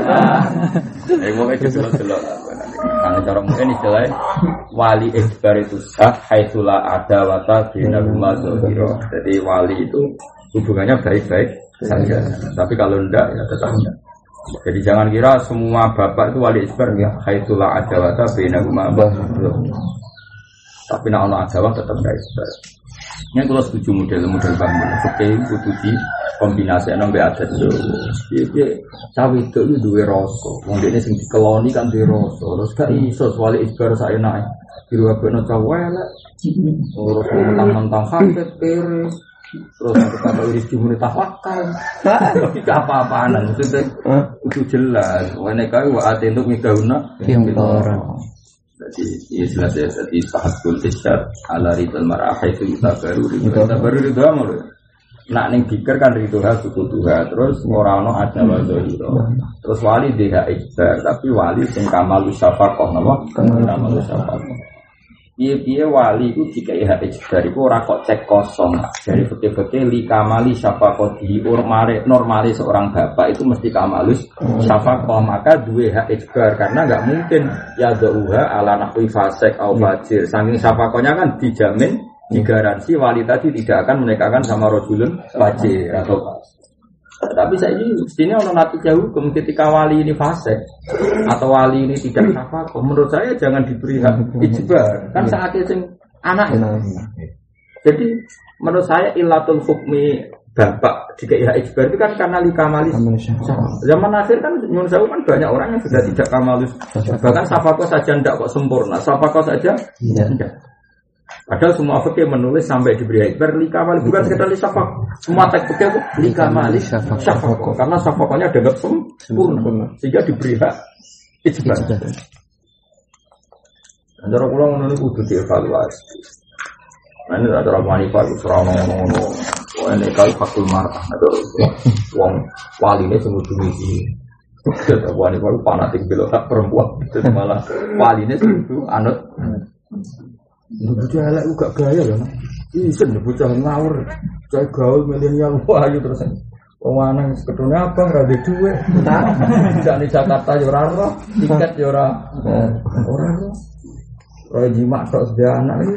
Pokoknya jelas-jelas. Karena cara mungkin istilahnya wali isbar itu sah, haitsulah ada wata bina rumah zohiro. Jadi wali itu hubungannya baik-baik saja. Tapi kalau enggak ya tetap enggak. Jadi jangan kira semua bapak itu wali isbar ya, haitsulah ada wata bina rumah zohiro. Tapi nak ono agama tetap enggak isbar. Ini kalau setuju model-model bangun, seperti itu di kombinasi nambah adat itu. Jadi cawe itu dua rasa, mungkin sing dikeloni kan dua rasa. Terus gak iso wali isbar saya naik, biru apa no cawe lah. Terus mentang-mentang hafid peres, terus kata iris cuma tawakal. Tapi apa-apaan maksudnya itu jelas. Wanita itu ati untuk migahuna yang orang. Jadi jelas ya, jadi sahatul isyad ala ridal mar'ah itu kita baru itu amal. Nak neng pikir kan ridho suku Tuhan, terus orang ada wazohiro, terus wali dia ikhtar, tapi wali sing kamalus syafaqah, nama kamalus syafaqah. Iya wali itu jika ikhtar itu orang kok cek kosong, dari fakir-fakir li kamali syafaqah di normali seorang bapak itu mesti kamalus syafaqah, maka dua ikhtar karena nggak mungkin ya doa ala nahwi fasek au fajir, saking syafaqahnya kan dijamin. Digaransi wali tadi tidak akan menikahkan sama rojulun fajir atau tapi saya ini mestinya ono natijah hukum ketika wali ini fasik atau wali ini tidak syafaqah, menurut saya jangan diberi hak ijbar kan saatnya sing anak jadi menurut saya ilatul hukmi bapak jika ijbar itu kan karena likamalus zaman akhir kan nyun sewu kan banyak orang yang sudah tidak kamalus bahkan syafaqah saja tidak kok sempurna syafaqah saja tidak. Padahal semua fikih menulis sampai diberi ikbar likamal bukan sekedar lisafak. Semua teks fikih itu likamal syafaq karena syafaqahnya dianggap sempurna sehingga diberi hak ijbar. Antara kula ngono niku kudu dievaluasi. Nah ini antara wanita itu serana ngono. Wah nek kali fakul marah atau wong waline sing ujung iki. Kita wanita itu fanatik belok tak perempuan itu malah waline itu anut bocah elek gak gaya lho. Isen bocah ngawur. Cah gaul milenial wayu terus. Wong lanang ketune abang ra duwe dhuwit. Tidak di Jakarta yo ora ora, tiket yo ora. Ora ora. Roy jimak tok sedaya anak iki.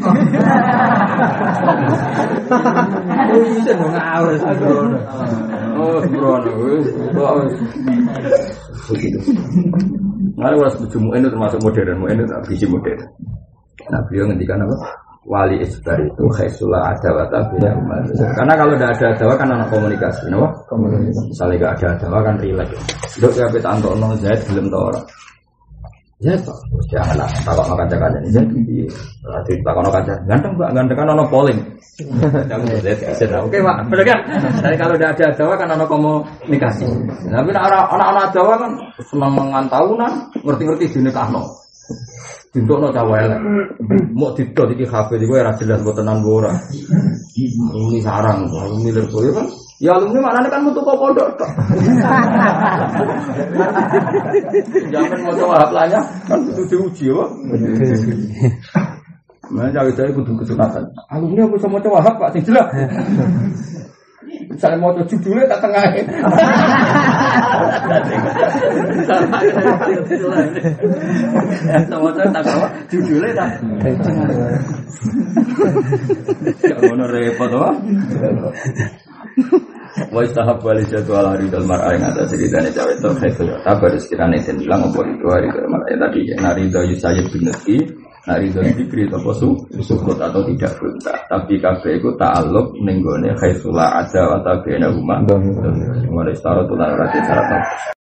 Isen ngawur sembrono. Oh, sembrono wis. Begitu. Lalu was bujumu itu termasuk modern, itu tak biji modern. Nah beliau ngendikan apa? Wali isbar itu khaisulah adawata bila umat. Karena kalau tidak ada adawa kan anak komunikasi, no? Komunikasi. Misalnya tidak ada adawa kan relax. Dok ya kita antono Zaid belum tahu orang. Zaid pak, janganlah takut makan cakaran ini Zaid. Nanti takut makan cakaran. Ganteng pak, ganteng kan ono polling. Oke pak, benar kan? Jadi kalau tidak ada adawa kan anak komunikasi. Tapi anak adawa kan senang mengantahunan, ngerti-ngerti dinikahno. Dintokno cawe elek. Mau didot iki kabeh iki ora jelas mbok tenan ora. Ini sarang, milir koyo kan. Ya alumni maknane kan metu kok pondok tok. Jangan mau coba haplanya kan kudu diuji apa. Nah, cawe-cawe kudu kesunatan. Alumni aku sama coba hap Pak sing jelas. Saya mau judulnya tak tengah. Sama saya tak tahu judulnya tak tengah. Jangan repot wah. Wa istahab wali jadwal hari dal mar'ah yang ada ceritanya cawe itu khaitul tabar sekiranya dan bilang apa itu hari dal mar'ah tadi narido yusayib bin Nabi narido dikri atau sukut atau tidak berita tapi kabeh itu ta'alluq ning gone khaisulah ada wa tabena huma wa istara tulan rati syarat